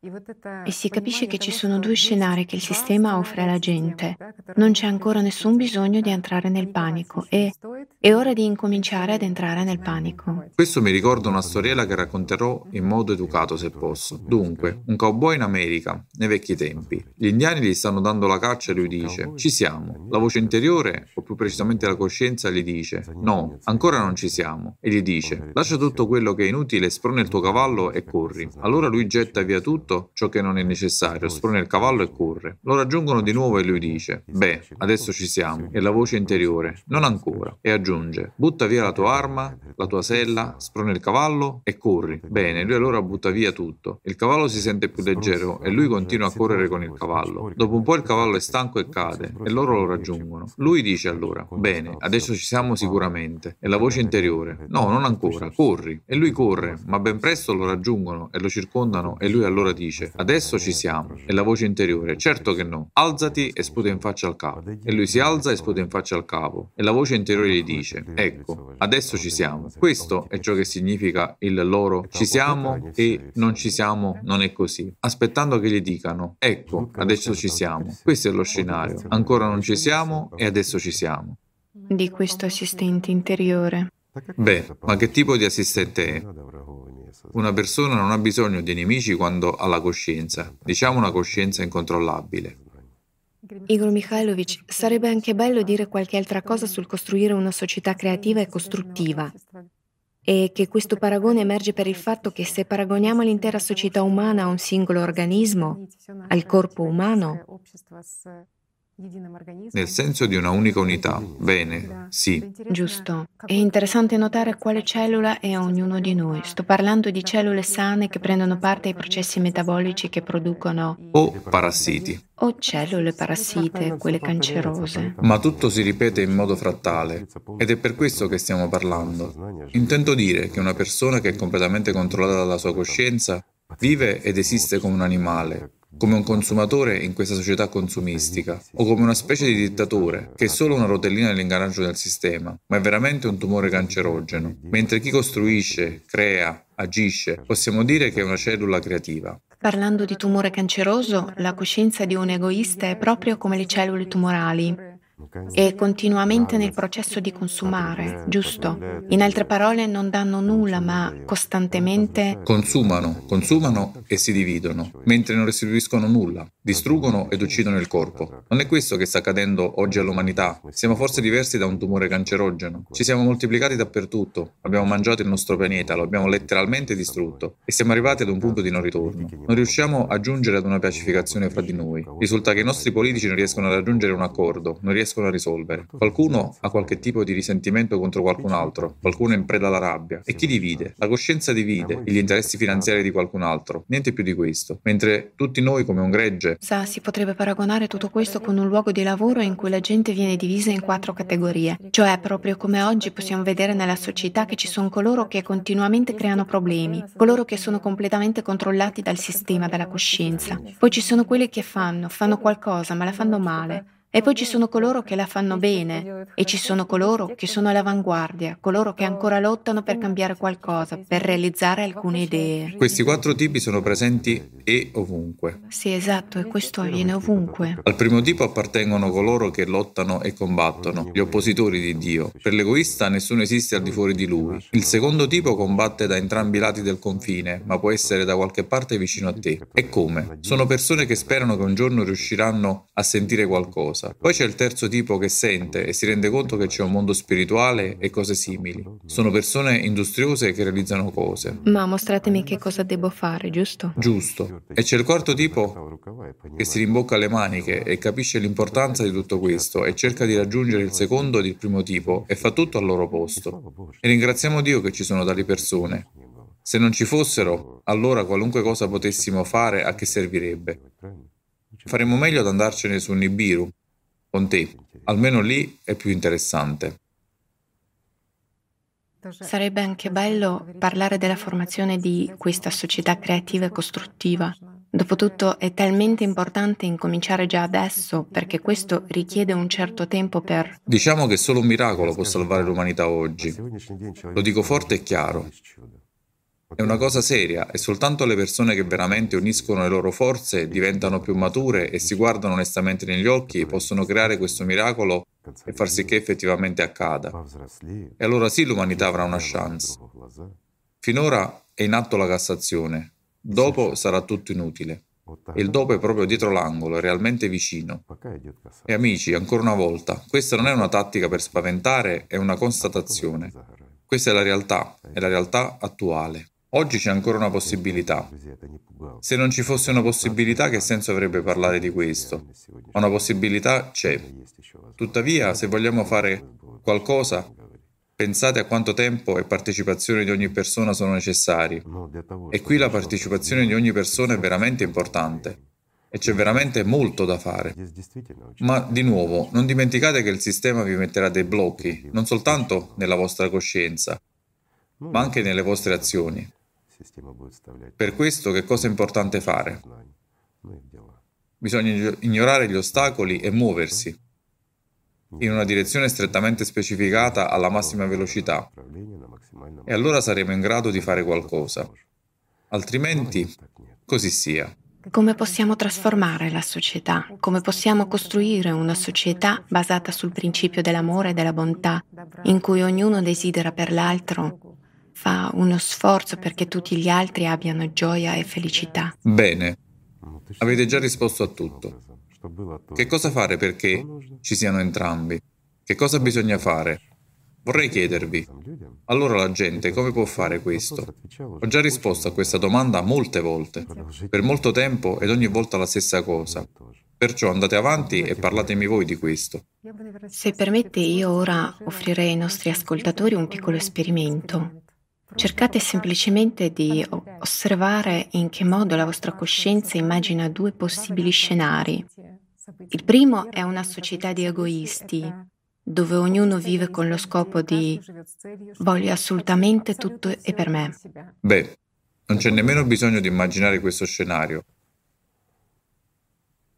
Speaker 1: E si capisce che ci sono due scenari che il sistema offre alla gente. Non c'è ancora nessun bisogno di entrare nel panico e è ora di incominciare ad entrare nel panico.
Speaker 2: Questo mi ricorda una storiella che racconterò in modo educato se posso. Dunque, un cowboy in America, nei vecchi tempi. Gli indiani gli stanno dando la caccia e lui dice: ci siamo. La voce interiore, o più precisamente la coscienza, gli dice: no, ancora non ci siamo. E gli dice: lascia tutto quello che è inutile, sprona il tuo cavallo e corri. Allora lui getta via tutto ciò che non è necessario, sprona il cavallo e corre. Lo raggiungono di nuovo e lui dice: beh, adesso ci siamo. E la voce interiore: non ancora. E aggiunge: butta via la tua arma, la tua sella, sprona il cavallo e corri. Bene, lui allora butta via tutto. Il cavallo si sente più leggero e lui continua a correre con il cavallo. Dopo un po' il cavallo è stanco e cade e loro lo raggiungono. Lui dice allora: bene, adesso ci siamo sicuramente. E la voce interiore: no, non ancora, corri. E lui corre, ma ben presto lo raggiungono e lo circondano e lui allora dice: adesso ci siamo. E la voce interiore: certo che no, alzati e sputa in faccia al capo. E lui si alza e sputa in faccia al capo. E la voce interiore gli dice: ecco, adesso ci siamo. Questo è ciò che significa il loro ci siamo e non ci siamo non è così. Aspettando che gli dicano: ecco, adesso ci siamo. Questo è lo scenario. Ancora non ci siamo e adesso ci siamo.
Speaker 1: Di questo assistente interiore.
Speaker 2: Beh, ma che tipo di assistente è? Una persona non ha bisogno di nemici quando ha la coscienza, diciamo una coscienza incontrollabile.
Speaker 1: Igor Mikhailovich, sarebbe anche bello dire qualche altra cosa sul costruire una società creativa e costruttiva. E che questo paragone emerge per il fatto che se paragoniamo l'intera società umana a un singolo organismo, al corpo umano,
Speaker 2: nel senso di una unica unità. Bene, sì.
Speaker 1: Giusto. È interessante notare quale cellula è a ognuno di noi. Sto parlando di cellule sane che prendono parte ai processi metabolici che producono...
Speaker 2: O parassiti.
Speaker 1: O cellule parassite, quelle cancerose.
Speaker 2: Ma tutto si ripete in modo frattale, ed è per questo che stiamo parlando. Intendo dire che una persona che è completamente controllata dalla sua coscienza vive ed esiste come un animale, come un consumatore in questa società consumistica, o come una specie di dittatore, che è solo una rotellina nell'ingranaggio del sistema, ma è veramente un tumore cancerogeno, mentre chi costruisce, crea, agisce, possiamo dire che è una cellula creativa.
Speaker 1: Parlando di tumore canceroso, la coscienza di un egoista è proprio come le cellule tumorali. È continuamente nel processo di consumare, giusto? In altre parole, non danno nulla, ma costantemente
Speaker 2: Consumano, consumano e si dividono, mentre non restituiscono nulla, distruggono ed uccidono il corpo. Non è questo che sta accadendo oggi all'umanità. Siamo forse diversi da un tumore cancerogeno. Ci siamo moltiplicati dappertutto, abbiamo mangiato il nostro pianeta, lo abbiamo letteralmente distrutto e siamo arrivati ad un punto di non ritorno. Non riusciamo a giungere ad una pacificazione fra di noi. Risulta che i nostri politici non riescono a raggiungere un accordo, non riescono a risolvere. Qualcuno ha qualche tipo di risentimento contro qualcun altro, qualcuno è in preda alla rabbia. E chi divide? La coscienza divide gli interessi finanziari di qualcun altro, niente più di questo. Mentre tutti noi come un gregge...
Speaker 1: Sa, si potrebbe paragonare tutto questo con un luogo di lavoro in cui la gente viene divisa in quattro categorie. Cioè, proprio come oggi possiamo vedere nella società che ci sono coloro che continuamente creano problemi, coloro che sono completamente controllati dal sistema, dalla coscienza. Poi ci sono quelli che fanno, fanno qualcosa, ma la fanno male. E poi ci sono coloro che la fanno bene e ci sono coloro che sono all'avanguardia, coloro che ancora lottano per cambiare qualcosa, per realizzare alcune idee.
Speaker 2: Questi quattro tipi sono presenti e ovunque.
Speaker 1: Sì, esatto, e questo avviene ovunque.
Speaker 2: Al primo tipo appartengono coloro che lottano e combattono, gli oppositori di Dio. Per l'egoista nessuno esiste al di fuori di lui. Il secondo tipo combatte da entrambi i lati del confine, ma può essere da qualche parte vicino a te. E come? Sono persone che sperano che un giorno riusciranno a sentire qualcosa. Poi c'è il terzo tipo che sente e si rende conto che c'è un mondo spirituale e cose simili. Sono persone industriose che realizzano cose.
Speaker 1: Ma mostratemi che cosa devo fare, giusto?
Speaker 2: Giusto. E c'è il quarto tipo che si rimbocca le maniche e capisce l'importanza di tutto questo e cerca di raggiungere il secondo ed il primo tipo e fa tutto al loro posto. E ringraziamo Dio che ci sono tali persone. Se non ci fossero, allora qualunque cosa potessimo fare a che servirebbe? Faremmo meglio ad andarcene su Nibiru, con te, almeno lì è più interessante.
Speaker 1: Sarebbe anche bello parlare della formazione di questa società creativa e costruttiva. Dopotutto è talmente importante incominciare già adesso, perché questo richiede un certo tempo per...
Speaker 2: Diciamo che solo un miracolo può salvare l'umanità oggi. Lo dico forte e chiaro. È una cosa seria e soltanto le persone che veramente uniscono le loro forze, diventano più mature e si guardano onestamente negli occhi possono creare questo miracolo e far sì che effettivamente accada. E allora sì l'umanità avrà una chance. Finora è in atto la Cassazione, dopo sarà tutto inutile. E il dopo è proprio dietro l'angolo, è realmente vicino. E amici, ancora una volta, questa non è una tattica per spaventare, è una constatazione. Questa è la realtà, è la realtà attuale. Oggi c'è ancora una possibilità. Se non ci fosse una possibilità, che senso avrebbe parlare di questo? Ma una possibilità c'è. Tuttavia, se vogliamo fare qualcosa, pensate a quanto tempo e partecipazione di ogni persona sono necessari. E qui la partecipazione di ogni persona è veramente importante. E c'è veramente molto da fare. Ma, di nuovo, non dimenticate che il sistema vi metterà dei blocchi, non soltanto nella vostra coscienza, ma anche nelle vostre azioni. Per questo che cosa è importante fare? Bisogna ignorare gli ostacoli e muoversi in una direzione strettamente specificata alla massima velocità e allora saremo in grado di fare qualcosa. Altrimenti, così sia.
Speaker 1: Come possiamo trasformare la società? Come possiamo costruire una società basata sul principio dell'amore e della bontà, in cui ognuno desidera per l'altro, fa uno sforzo perché tutti gli altri abbiano gioia e felicità?
Speaker 2: Bene, avete già risposto a tutto. Che cosa fare perché ci siano entrambi? Che cosa bisogna fare? Vorrei chiedervi, allora la gente come può fare questo? Ho già risposto a questa domanda molte volte, per molto tempo ed ogni volta la stessa cosa. Perciò andate avanti e parlatemi voi di questo.
Speaker 1: Se permette, io ora offrirei ai nostri ascoltatori un piccolo esperimento. Cercate semplicemente di osservare in che modo la vostra coscienza immagina due possibili scenari. Il primo è una società di egoisti, dove ognuno vive con lo scopo di voglio assolutamente tutto e per me.
Speaker 2: Beh, non c'è nemmeno bisogno di immaginare questo scenario.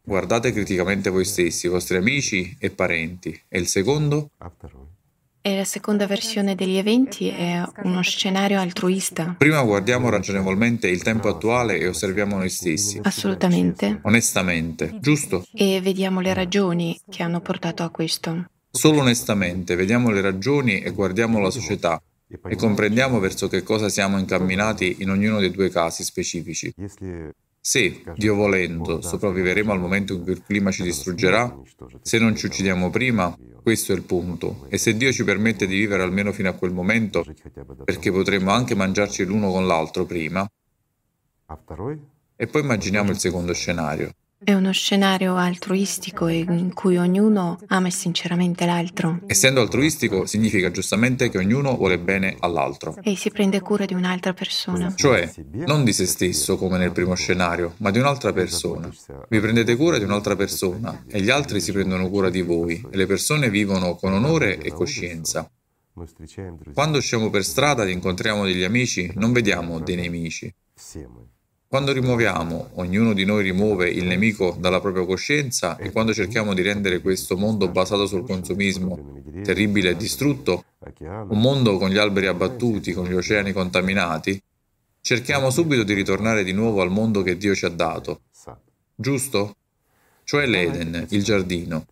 Speaker 2: Guardate criticamente voi stessi, i vostri amici e parenti. E il secondo?
Speaker 1: E la seconda versione degli eventi è uno scenario altruista.
Speaker 2: Prima guardiamo ragionevolmente il tempo attuale e osserviamo noi stessi.
Speaker 1: Assolutamente.
Speaker 2: Onestamente, giusto?
Speaker 1: E vediamo le ragioni che hanno portato a questo.
Speaker 2: Solo onestamente vediamo le ragioni e guardiamo la società e comprendiamo verso che cosa siamo incamminati in ognuno dei due casi specifici. Se, Dio volendo, sopravviveremo al momento in cui il clima ci distruggerà, se non ci uccidiamo prima, questo è il punto. E se Dio ci permette di vivere almeno fino a quel momento, perché potremmo anche mangiarci l'uno con l'altro prima, e poi immaginiamo il secondo scenario.
Speaker 1: È uno scenario altruistico in cui ognuno ama sinceramente l'altro.
Speaker 2: Essendo altruistico significa giustamente che ognuno vuole bene all'altro.
Speaker 1: E si prende cura di un'altra persona.
Speaker 2: Cioè, non di se stesso come nel primo scenario, ma di un'altra persona. Vi prendete cura di un'altra persona e gli altri si prendono cura di voi e le persone vivono con onore e coscienza. Quando usciamo per strada ed incontriamo degli amici, non vediamo dei nemici. Quando rimuoviamo, ognuno di noi rimuove il nemico dalla propria coscienza e quando cerchiamo di rendere questo mondo basato sul consumismo terribile e distrutto, un mondo con gli alberi abbattuti, con gli oceani contaminati, cerchiamo subito di ritornare di nuovo al mondo che Dio ci ha dato. Giusto? Cioè l'Eden, il giardino.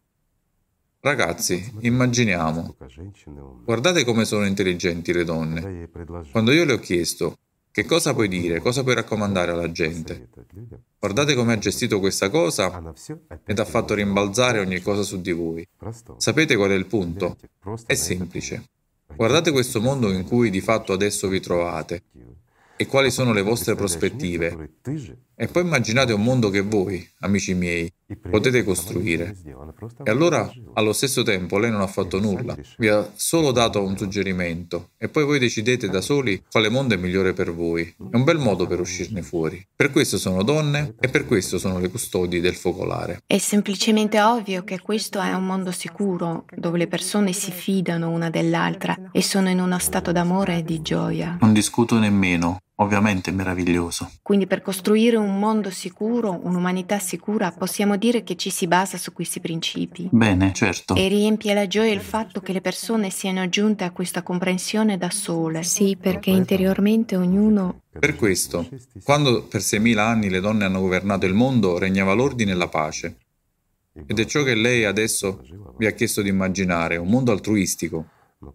Speaker 2: Ragazzi, immaginiamo. Guardate come sono intelligenti le donne. Quando io le ho chiesto che cosa puoi dire, cosa puoi raccomandare alla gente, guardate come ha gestito questa cosa ed ha fatto rimbalzare ogni cosa su di voi. Sapete qual è il punto? È semplice. Guardate questo mondo in cui di fatto adesso vi trovate e quali sono le vostre prospettive. E poi immaginate un mondo che voi, amici miei, potete costruire. E allora, allo stesso tempo, lei non ha fatto nulla, vi ha solo dato un suggerimento e poi voi decidete da soli quale mondo è migliore per voi. È un bel modo per uscirne fuori. Per questo sono donne e per questo sono le custodi del focolare.
Speaker 1: È semplicemente ovvio che questo è un mondo sicuro, dove le persone si fidano una dell'altra e sono in uno stato d'amore e di gioia.
Speaker 2: Non discuto nemmeno. Ovviamente è meraviglioso.
Speaker 1: Quindi per costruire un mondo sicuro, un'umanità sicura, possiamo dire che ci si basa su questi principi.
Speaker 2: Bene, certo.
Speaker 1: E riempie la gioia il fatto che le persone siano giunte a questa comprensione da sole. Sì, perché interiormente ognuno...
Speaker 2: Per questo, quando per seimila anni le donne hanno governato il mondo, regnava l'ordine e la pace. Ed è ciò che lei adesso vi ha chiesto di immaginare, un mondo altruistico.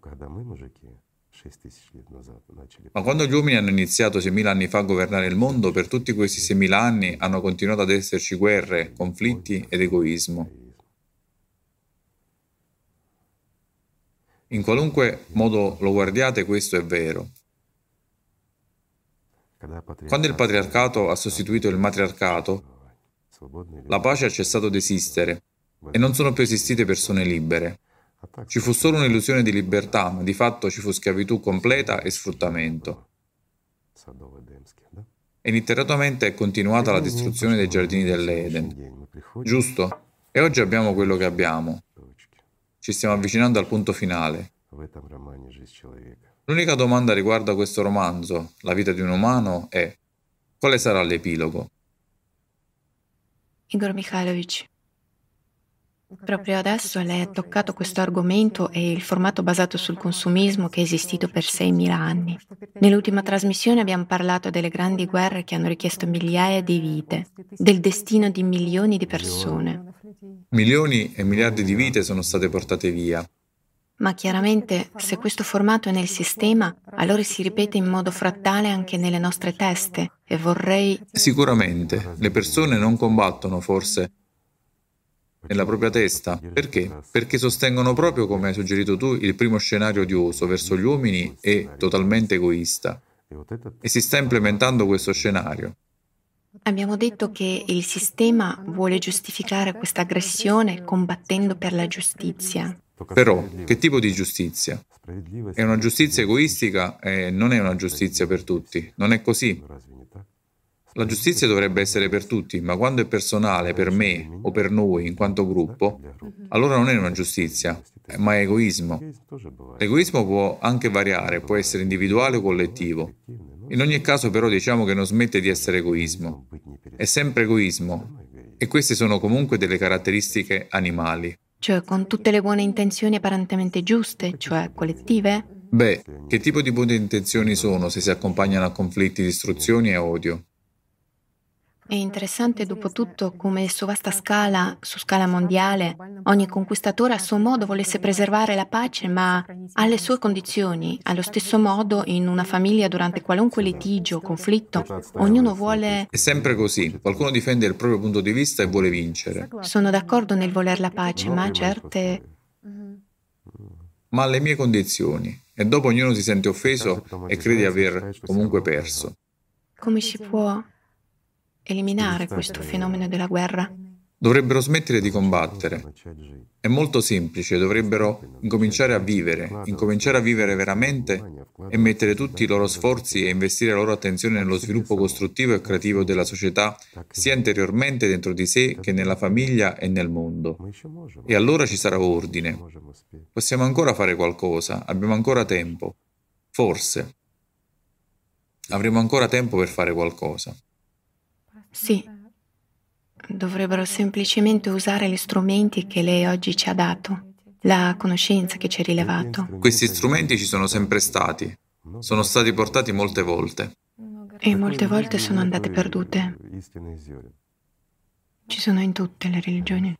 Speaker 2: Ma quando gli uomini hanno iniziato seimila anni fa a governare il mondo, per tutti questi seimila anni hanno continuato ad esserci guerre, conflitti ed egoismo. In qualunque modo lo guardiate, questo è vero. Quando il patriarcato ha sostituito il matriarcato, la pace ha cessato di esistere e non sono più esistite persone libere. Ci fu solo un'illusione di libertà, ma di fatto ci fu schiavitù completa e sfruttamento. E ininterrottamente è continuata la distruzione dei giardini dell'Eden. Giusto? E oggi abbiamo quello che abbiamo. Ci stiamo avvicinando al punto finale. L'unica domanda riguardo a questo romanzo, la vita di un umano, è: quale sarà l'epilogo?
Speaker 1: Igor Mikhailovich, proprio adesso lei ha toccato questo argomento e il formato basato sul consumismo che è esistito per seimila anni. Nell'ultima trasmissione abbiamo parlato delle grandi guerre che hanno richiesto migliaia di vite, del destino di milioni di persone.
Speaker 2: Milioni e miliardi di vite sono state portate via.
Speaker 1: Ma chiaramente, se questo formato è nel sistema, allora si ripete in modo frattale anche nelle nostre teste e vorrei...
Speaker 2: Sicuramente, le persone non combattono forse nella propria testa. Perché? Perché sostengono proprio, come hai suggerito tu, il primo scenario odioso verso gli uomini e totalmente egoista. E si sta implementando questo scenario.
Speaker 1: Abbiamo detto che il sistema vuole giustificare questa aggressione combattendo per la giustizia.
Speaker 2: Però, che tipo di giustizia? È una giustizia egoistica e non è una giustizia per tutti. Non è così. La giustizia dovrebbe essere per tutti, ma quando è personale, per me o per noi in quanto gruppo, allora non è una giustizia, ma è egoismo. L'egoismo può anche variare, può essere individuale o collettivo. In ogni caso però diciamo che non smette di essere egoismo. È sempre egoismo. E queste sono comunque delle caratteristiche animali.
Speaker 1: Cioè con tutte le buone intenzioni apparentemente giuste, cioè collettive?
Speaker 2: Beh, che tipo di buone intenzioni sono se si accompagnano a conflitti, distruzioni e odio?
Speaker 1: È interessante dopo tutto come su vasta scala, su scala mondiale, ogni conquistatore a suo modo volesse preservare la pace, ma alle sue condizioni. Allo stesso modo, in una famiglia durante qualunque litigio o conflitto, ognuno vuole...
Speaker 2: È sempre così, qualcuno difende il proprio punto di vista e vuole vincere.
Speaker 1: Sono d'accordo nel voler la pace, ma certe...
Speaker 2: Ma alle mie condizioni. E dopo ognuno si sente offeso e crede di aver comunque perso.
Speaker 1: Come si può eliminare questo fenomeno della guerra?
Speaker 2: Dovrebbero smettere di combattere. È molto semplice, dovrebbero incominciare a vivere, incominciare a vivere veramente e mettere tutti i loro sforzi e investire la loro attenzione nello sviluppo costruttivo e creativo della società, sia interiormente dentro di sé che nella famiglia e nel mondo. E allora ci sarà ordine. Possiamo ancora fare qualcosa, abbiamo ancora tempo. Forse. Avremo ancora tempo per fare qualcosa.
Speaker 1: Sì, dovrebbero semplicemente usare gli strumenti che lei oggi ci ha dato, la conoscenza che ci ha rilevato.
Speaker 2: Questi strumenti ci sono sempre stati, sono stati portati molte volte.
Speaker 1: E molte volte sono andate perdute. Ci sono in tutte le religioni.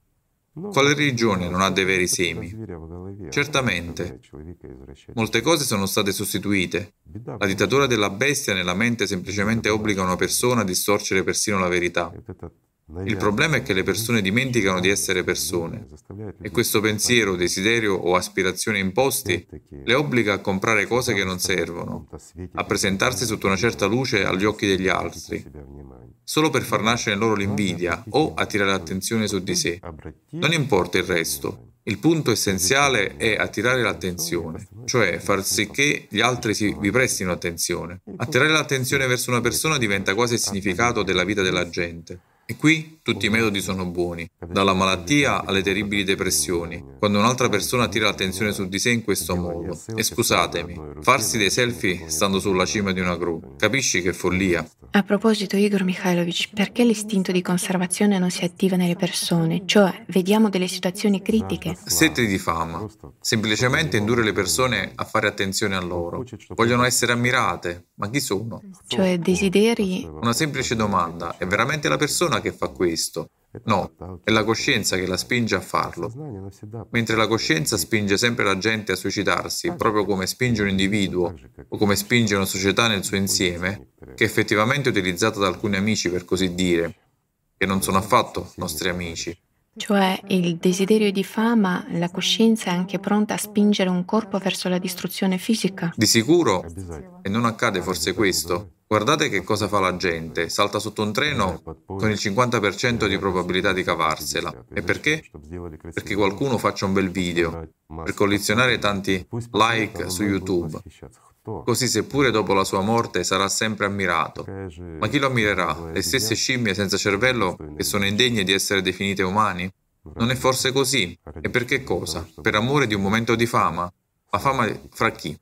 Speaker 2: Quale religione non ha dei veri semi? Certamente. Molte cose sono state sostituite. La dittatura della bestia nella mente semplicemente obbliga una persona a distorcere persino la verità. Il problema è che le persone dimenticano di essere persone e questo pensiero, desiderio o aspirazione imposti le obbliga a comprare cose che non servono, a presentarsi sotto una certa luce agli occhi degli altri, solo per far nascere in loro l'invidia o attirare l'attenzione su di sé. Non importa il resto. Il punto essenziale è attirare l'attenzione, cioè far sì che gli altri si, vi prestino attenzione. Attirare l'attenzione verso una persona diventa quasi il significato della vita della gente. E qui tutti i metodi sono buoni, dalla malattia alle terribili depressioni, quando un'altra persona attira l'attenzione su di sé in questo modo. E scusatemi, farsi dei selfie stando sulla cima di una gru, capisci che follia?
Speaker 1: A proposito, Igor Mikhailovich, perché l'istinto di conservazione non si attiva nelle persone? Cioè, vediamo delle situazioni critiche.
Speaker 2: Sete di fama. Semplicemente indurre le persone a fare attenzione a loro. Vogliono essere ammirate, ma chi sono?
Speaker 1: Cioè, desideri...
Speaker 2: Una semplice domanda, è veramente la persona che fa questo? No, è la coscienza che la spinge a farlo. Mentre la coscienza spinge sempre la gente a suicidarsi, proprio come spinge un individuo o come spinge una società nel suo insieme, che è effettivamente utilizzata da alcuni amici per così dire, che non sono affatto nostri amici.
Speaker 1: Cioè, il desiderio di fama, la coscienza è anche pronta a spingere un corpo verso la distruzione fisica?
Speaker 2: Di sicuro, e non accade forse questo? Guardate che cosa fa la gente, salta sotto un treno con il cinquanta per cento di probabilità di cavarsela. E perché? Perché qualcuno faccia un bel video, per collezionare tanti like su YouTube. Così seppure dopo la sua morte sarà sempre ammirato. Ma chi lo ammirerà? Le stesse scimmie senza cervello che sono indegne di essere definite umani? Non è forse così? E per che cosa? Per amore di un momento di fama? Ma fama fra chi?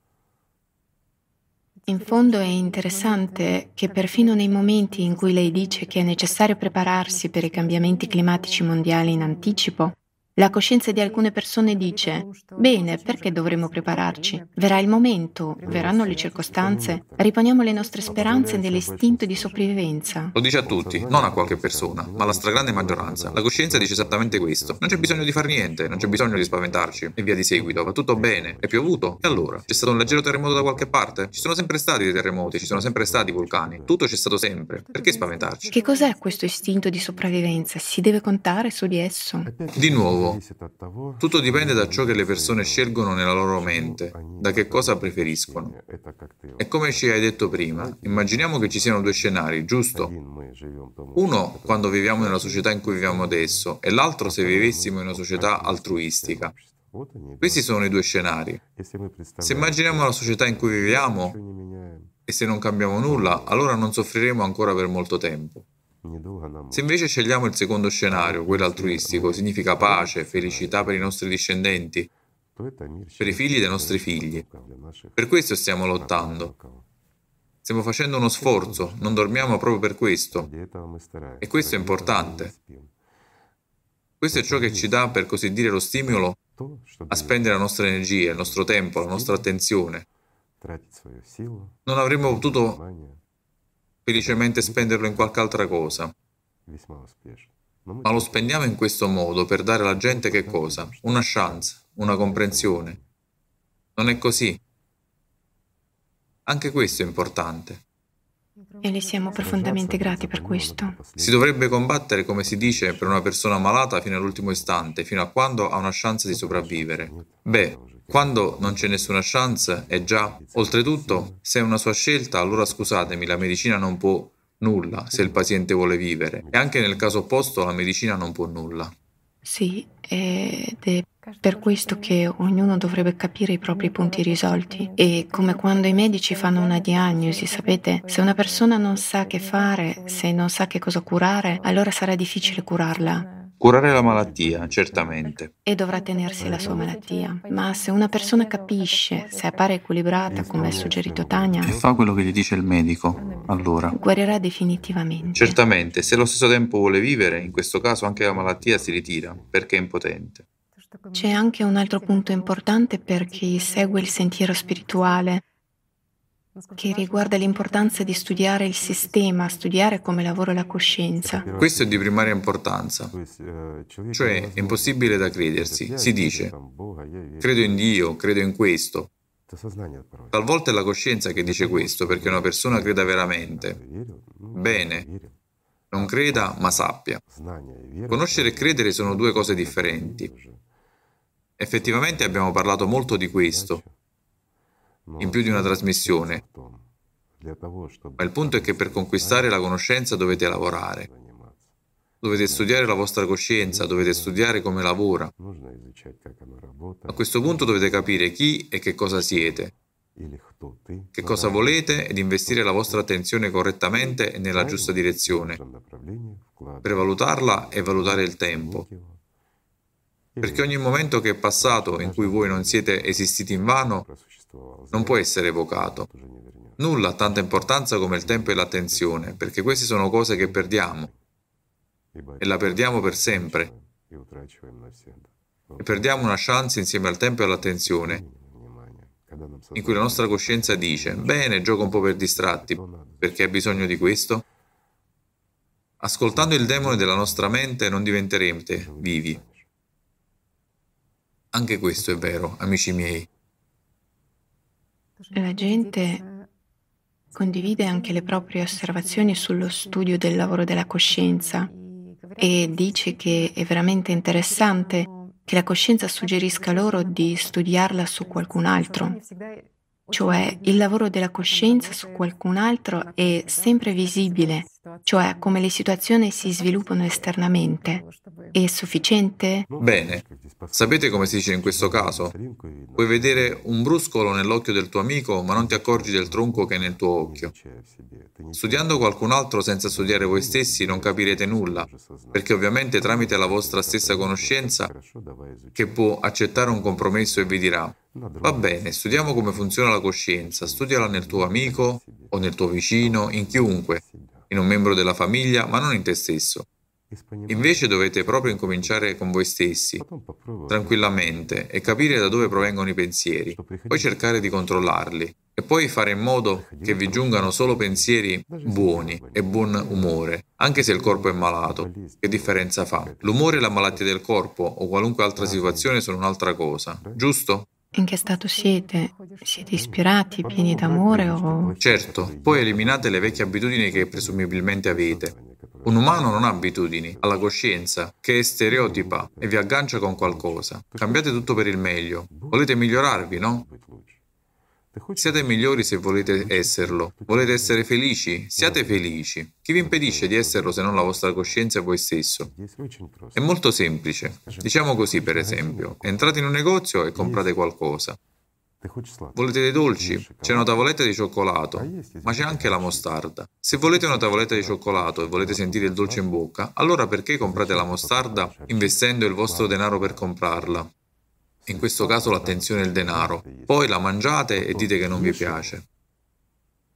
Speaker 1: In fondo è interessante che perfino nei momenti in cui lei dice che è necessario prepararsi per i cambiamenti climatici mondiali in anticipo, la coscienza di alcune persone dice: bene, perché dovremmo prepararci? Verrà il momento, verranno le circostanze, riponiamo le nostre speranze nell'istinto di sopravvivenza.
Speaker 2: Lo dice a tutti, non a qualche persona, ma alla stragrande maggioranza. La coscienza dice esattamente questo. Non c'è bisogno di far niente, non c'è bisogno di spaventarci, e via di seguito, va tutto bene. È piovuto? E allora? C'è stato un leggero terremoto da qualche parte? Ci sono sempre stati dei terremoti, ci sono sempre stati vulcani. Tutto c'è stato sempre. Perché spaventarci?
Speaker 1: Che cos'è questo istinto di sopravvivenza? Si deve contare su di esso?
Speaker 2: Di nuovo, tutto dipende da ciò che le persone scelgono nella loro mente, da che cosa preferiscono. E come ci hai detto prima, immaginiamo che ci siano due scenari, giusto? Uno quando viviamo nella società in cui viviamo adesso e l'altro se vivessimo in una società altruistica. Questi sono i due scenari. Se immaginiamo la società in cui viviamo e se non cambiamo nulla, allora non soffriremo ancora per molto tempo. Se invece scegliamo il secondo scenario, quello altruistico, significa pace, felicità per i nostri discendenti, per i figli dei nostri figli. Per questo stiamo lottando. Stiamo facendo uno sforzo, non dormiamo proprio per questo. E questo è importante. Questo è ciò che ci dà, per così dire, lo stimolo a spendere la nostra energia, il nostro tempo, la nostra attenzione. Non avremmo potuto felicemente spenderlo in qualche altra cosa. Ma lo spendiamo in questo modo per dare alla gente che cosa? Una chance, una comprensione. Non è così. Anche questo è importante.
Speaker 1: E le siamo profondamente grati per questo.
Speaker 2: Si dovrebbe combattere, come si dice, per una persona malata fino all'ultimo istante, fino a quando ha una chance di sopravvivere. Beh, quando non c'è nessuna chance, è già... Oltretutto, se è una sua scelta, allora scusatemi, la medicina non può nulla se il paziente vuole vivere. E anche nel caso opposto, la medicina non può nulla.
Speaker 1: Sì, ed è per questo che ognuno dovrebbe capire i propri punti risolti. E come quando i medici fanno una diagnosi, sapete, se una persona non sa che fare, se non sa che cosa curare, allora sarà difficile curarla.
Speaker 2: Curare la malattia, certamente.
Speaker 1: E dovrà tenersi la sua malattia. Ma se una persona capisce, se appare equilibrata, come ha suggerito Tania,
Speaker 2: E fa quello che gli dice il medico, allora.
Speaker 1: guarirà definitivamente.
Speaker 2: Certamente, se allo stesso tempo vuole vivere, in questo caso anche la malattia si ritira, perché è impotente.
Speaker 1: C'è anche un altro punto importante per chi segue il sentiero spirituale, che riguarda l'importanza di studiare il sistema, studiare come lavora la coscienza.
Speaker 2: Questo è di primaria importanza, cioè è impossibile da credersi. Si dice, credo in Dio, credo in questo. Talvolta è la coscienza che dice questo perché una persona creda veramente. Bene, non creda, ma sappia. Conoscere e credere sono due cose differenti. Effettivamente abbiamo parlato molto di questo, in più di una trasmissione, ma il punto è che per conquistare la conoscenza dovete lavorare. Dovete studiare la vostra coscienza, dovete studiare come lavora. A questo punto dovete capire chi e che cosa siete, che cosa volete ed investire la vostra attenzione correttamente e nella giusta direzione, per valutarla e valutare il tempo. Perché ogni momento che è passato in cui voi non siete esistiti invano non può essere evocato. Nulla ha tanta importanza come il tempo e l'attenzione, perché queste sono cose che perdiamo e la perdiamo per sempre. E perdiamo una chance insieme al tempo e all'attenzione, in cui la nostra coscienza dice, bene, gioco un po' per distratti, perché hai bisogno di questo? Ascoltando il demone della nostra mente non diventerete vivi. Anche questo è vero, amici miei.
Speaker 1: La gente condivide anche le proprie osservazioni sullo studio del lavoro della coscienza e dice che è veramente interessante che la coscienza suggerisca loro di studiarla su qualcun altro. Cioè, il lavoro della coscienza su qualcun altro è sempre visibile, cioè come le situazioni si sviluppano esternamente. È sufficiente?
Speaker 2: Bene. Sapete come si dice in questo caso? Puoi vedere un bruscolo nell'occhio del tuo amico, ma non ti accorgi del tronco che è nel tuo occhio. Studiando qualcun altro senza studiare voi stessi non capirete nulla, perché ovviamente tramite la vostra stessa conoscenza, che può accettare un compromesso e vi dirà, va bene, studiamo come funziona la coscienza, studiala nel tuo amico o nel tuo vicino, in chiunque, in un membro della famiglia, ma non in te stesso. Invece dovete proprio incominciare con voi stessi, tranquillamente, e capire da dove provengono i pensieri, poi cercare di controllarli, e poi fare in modo che vi giungano solo pensieri buoni e buon umore, anche se il corpo è malato. Che differenza fa? L'umore e la malattia del corpo o qualunque altra situazione sono un'altra cosa, giusto?
Speaker 1: In che stato siete? Siete ispirati, pieni d'amore o...
Speaker 2: Certo, poi eliminate le vecchie abitudini che presumibilmente avete. Un umano non ha abitudini, ha la coscienza, che è stereotipa e vi aggancia con qualcosa. Cambiate tutto per il meglio. Volete migliorarvi, no? Siate migliori se volete esserlo. Volete essere felici? Siate felici. Chi vi impedisce di esserlo se non la vostra coscienza e voi stesso? È molto semplice. Diciamo così, per esempio. Entrate in un negozio e comprate qualcosa. Volete dei dolci? C'è una tavoletta di cioccolato, ma c'è anche la mostarda. Se volete una tavoletta di cioccolato e volete sentire il dolce in bocca, allora perché comprate la mostarda investendo il vostro denaro per comprarla? In questo caso l'attenzione è il denaro. Poi la mangiate e dite che non vi piace.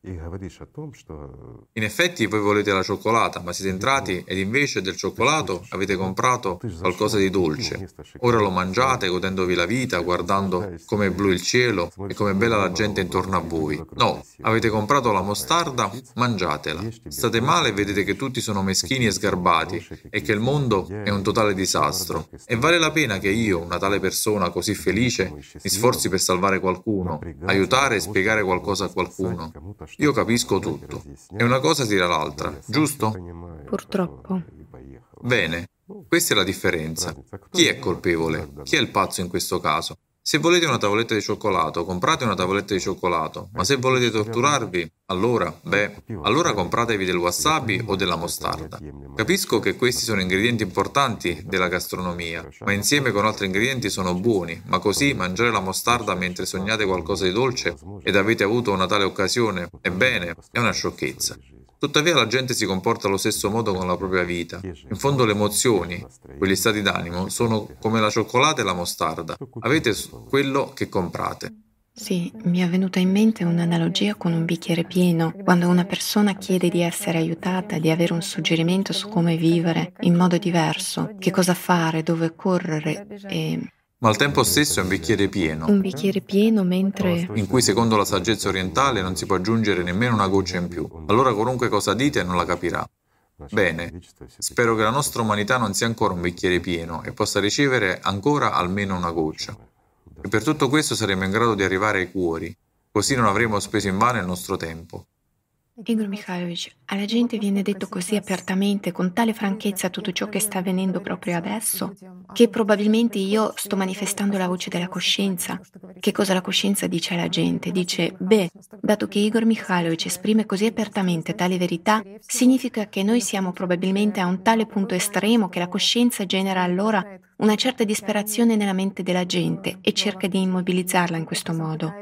Speaker 2: In effetti voi volete la cioccolata, ma siete entrati ed invece del cioccolato avete comprato qualcosa di dolce. Ora lo mangiate godendovi la vita, guardando come è blu il cielo e come è bella la gente intorno a voi. No, avete comprato la mostarda, mangiatela. State male e vedete che tutti sono meschini e sgarbati e che il mondo è un totale disastro. E vale la pena che io, una tale persona così felice, mi sforzi per salvare qualcuno, aiutare e spiegare qualcosa a qualcuno. Io capisco tutto. E una cosa tira l'altra, giusto?
Speaker 1: Purtroppo.
Speaker 2: Bene, questa è la differenza. Chi è colpevole? Chi è il pazzo in questo caso? Se volete una tavoletta di cioccolato, comprate una tavoletta di cioccolato, ma se volete torturarvi, allora, beh, allora compratevi del wasabi o della mostarda. Capisco che questi sono ingredienti importanti della gastronomia, ma insieme con altri ingredienti sono buoni, ma così mangiare la mostarda mentre sognate qualcosa di dolce ed avete avuto una tale occasione, ebbene, è una sciocchezza. Tuttavia la gente si comporta allo stesso modo con la propria vita. In fondo le emozioni, quegli stati d'animo, sono come la cioccolata e la mostarda. Avete quello che comprate.
Speaker 1: Sì, mi è venuta in mente un'analogia con un bicchiere pieno. Quando una persona chiede di essere aiutata, di avere un suggerimento su come vivere in modo diverso, che cosa fare, dove correre e...
Speaker 2: Ma al tempo stesso è un bicchiere pieno,
Speaker 1: Un bicchiere pieno mentre...
Speaker 2: in cui secondo la saggezza orientale non si può aggiungere nemmeno una goccia in più. Allora qualunque cosa dite non la capirà. Bene, spero che la nostra umanità non sia ancora un bicchiere pieno e possa ricevere ancora almeno una goccia. E per tutto questo saremo in grado di arrivare ai cuori, così non avremo speso invano il nostro tempo.
Speaker 1: Igor Mikhailovich, alla gente viene detto così apertamente, con tale franchezza tutto ciò che sta avvenendo proprio adesso, che probabilmente io sto manifestando la voce della coscienza. Che cosa la coscienza dice alla gente? Dice, beh, dato che Igor Mikhailovich esprime così apertamente tale verità, significa che noi siamo probabilmente a un tale punto estremo che la coscienza genera allora una certa disperazione nella mente della gente e cerca di immobilizzarla in questo modo.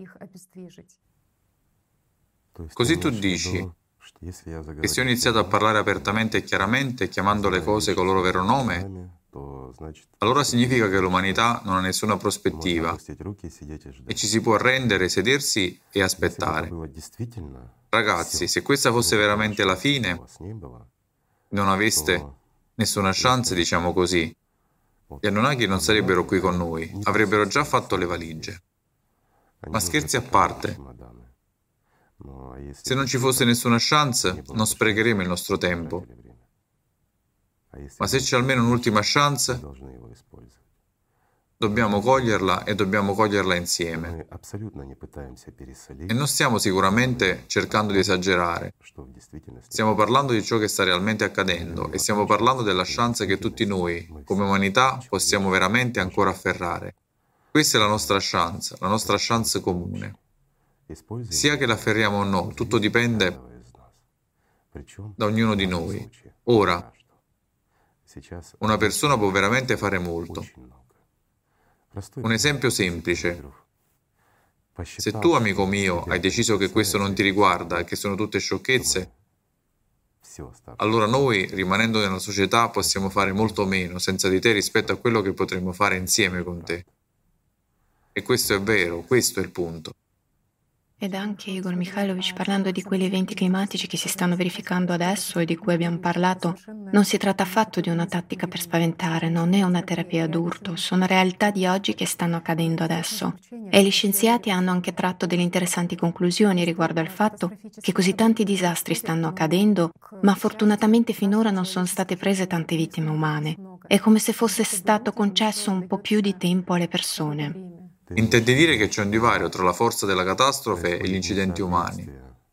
Speaker 2: Così tu dici che se ho iniziato a parlare apertamente e chiaramente, chiamando le cose col loro vero nome, allora significa che l'umanità non ha nessuna prospettiva e ci si può arrendere, sedersi e aspettare. Ragazzi, se questa fosse veramente la fine, non aveste nessuna chance, diciamo così, gli Anunnaki non sarebbero qui con noi, avrebbero già fatto le valigie. Ma scherzi a parte, se non ci fosse nessuna chance, non sprecheremo il nostro tempo. Ma se c'è almeno un'ultima chance, dobbiamo coglierla e dobbiamo coglierla insieme. E non stiamo sicuramente cercando di esagerare. Stiamo parlando di ciò che sta realmente accadendo e stiamo parlando della chance che tutti noi, come umanità, possiamo veramente ancora afferrare. Questa è la nostra chance, la nostra chance comune. Sia che la afferriamo o no, tutto dipende da ognuno di noi. Ora, una persona può veramente fare molto. Un esempio semplice. Se tu, amico mio, hai deciso che questo non ti riguarda e che sono tutte sciocchezze, allora noi, rimanendo nella società, possiamo fare molto meno senza di te rispetto a quello che potremmo fare insieme con te. E questo è vero, questo è il punto.
Speaker 1: Ed anche Igor Mikhailovich, parlando di quegli eventi climatici che si stanno verificando adesso e di cui abbiamo parlato, non si tratta affatto di una tattica per spaventare, non è una terapia d'urto, sono realtà di oggi che stanno accadendo adesso. E gli scienziati hanno anche tratto delle interessanti conclusioni riguardo al fatto che così tanti disastri stanno accadendo, ma fortunatamente finora non sono state prese tante vittime umane. È come se fosse stato concesso un po' più di tempo alle persone.
Speaker 2: Intendi dire che c'è un divario tra la forza della catastrofe e gli incidenti umani.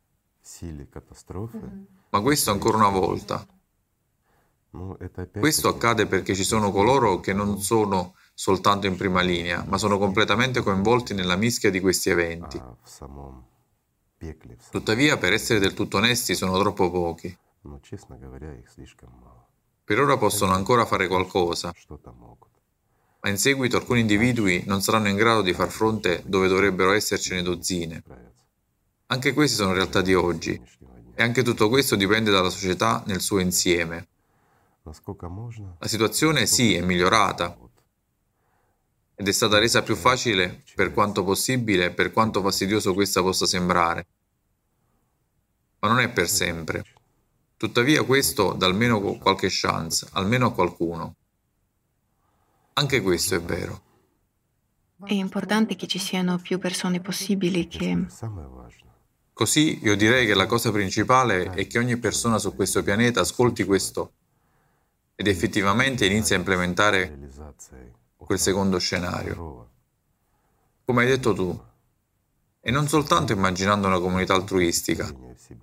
Speaker 2: Ma questo ancora una volta. Questo accade perché ci sono coloro che non sono soltanto in prima linea, ma sono completamente coinvolti nella mischia di questi eventi. Tuttavia, per essere del tutto onesti, sono troppo pochi. Per ora possono ancora fare qualcosa, ma in seguito alcuni individui non saranno in grado di far fronte dove dovrebbero essercene dozzine. Anche queste sono realtà di oggi, e anche tutto questo dipende dalla società nel suo insieme. La situazione sì è migliorata, ed è stata resa più facile per quanto possibile, per quanto fastidioso questa possa sembrare. ma non è per sempre. Tuttavia questo dà almeno qualche chance, almeno a qualcuno. Anche questo è vero.
Speaker 1: È importante che ci siano più persone possibili che...
Speaker 2: Così io direi che la cosa principale è che ogni persona su questo pianeta ascolti questo ed effettivamente inizi a implementare quel secondo scenario. Come hai detto tu, e non soltanto immaginando una comunità altruistica,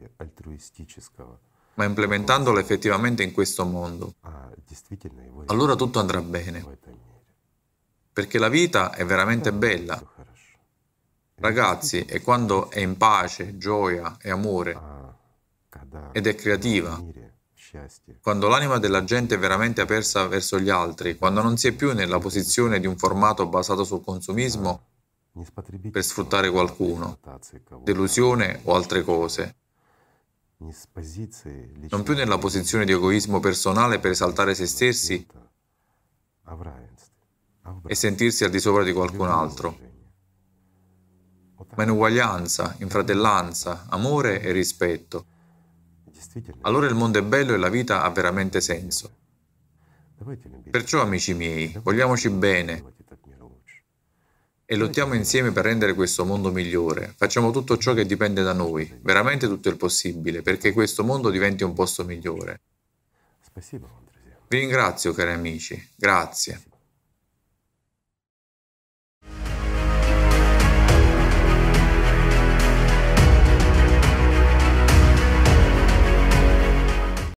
Speaker 2: ma implementandola effettivamente in questo mondo. Allora tutto andrà bene, perché la vita è veramente bella. Ragazzi, è quando è in pace, gioia e amore, ed è creativa, quando l'anima della gente è veramente aperta verso gli altri, quando non si è più nella posizione di un formato basato sul consumismo per sfruttare qualcuno, delusione o altre cose, non più nella posizione di egoismo personale per esaltare se stessi e sentirsi al di sopra di qualcun altro, ma in uguaglianza, in fratellanza, amore e rispetto. Allora il mondo è bello e la vita ha veramente senso. Perciò, amici miei, vogliamoci bene e lottiamo insieme per rendere questo mondo migliore. Facciamo tutto ciò che dipende da noi, veramente tutto il possibile, perché questo mondo diventi un posto migliore. Vi ringrazio, cari amici. Grazie.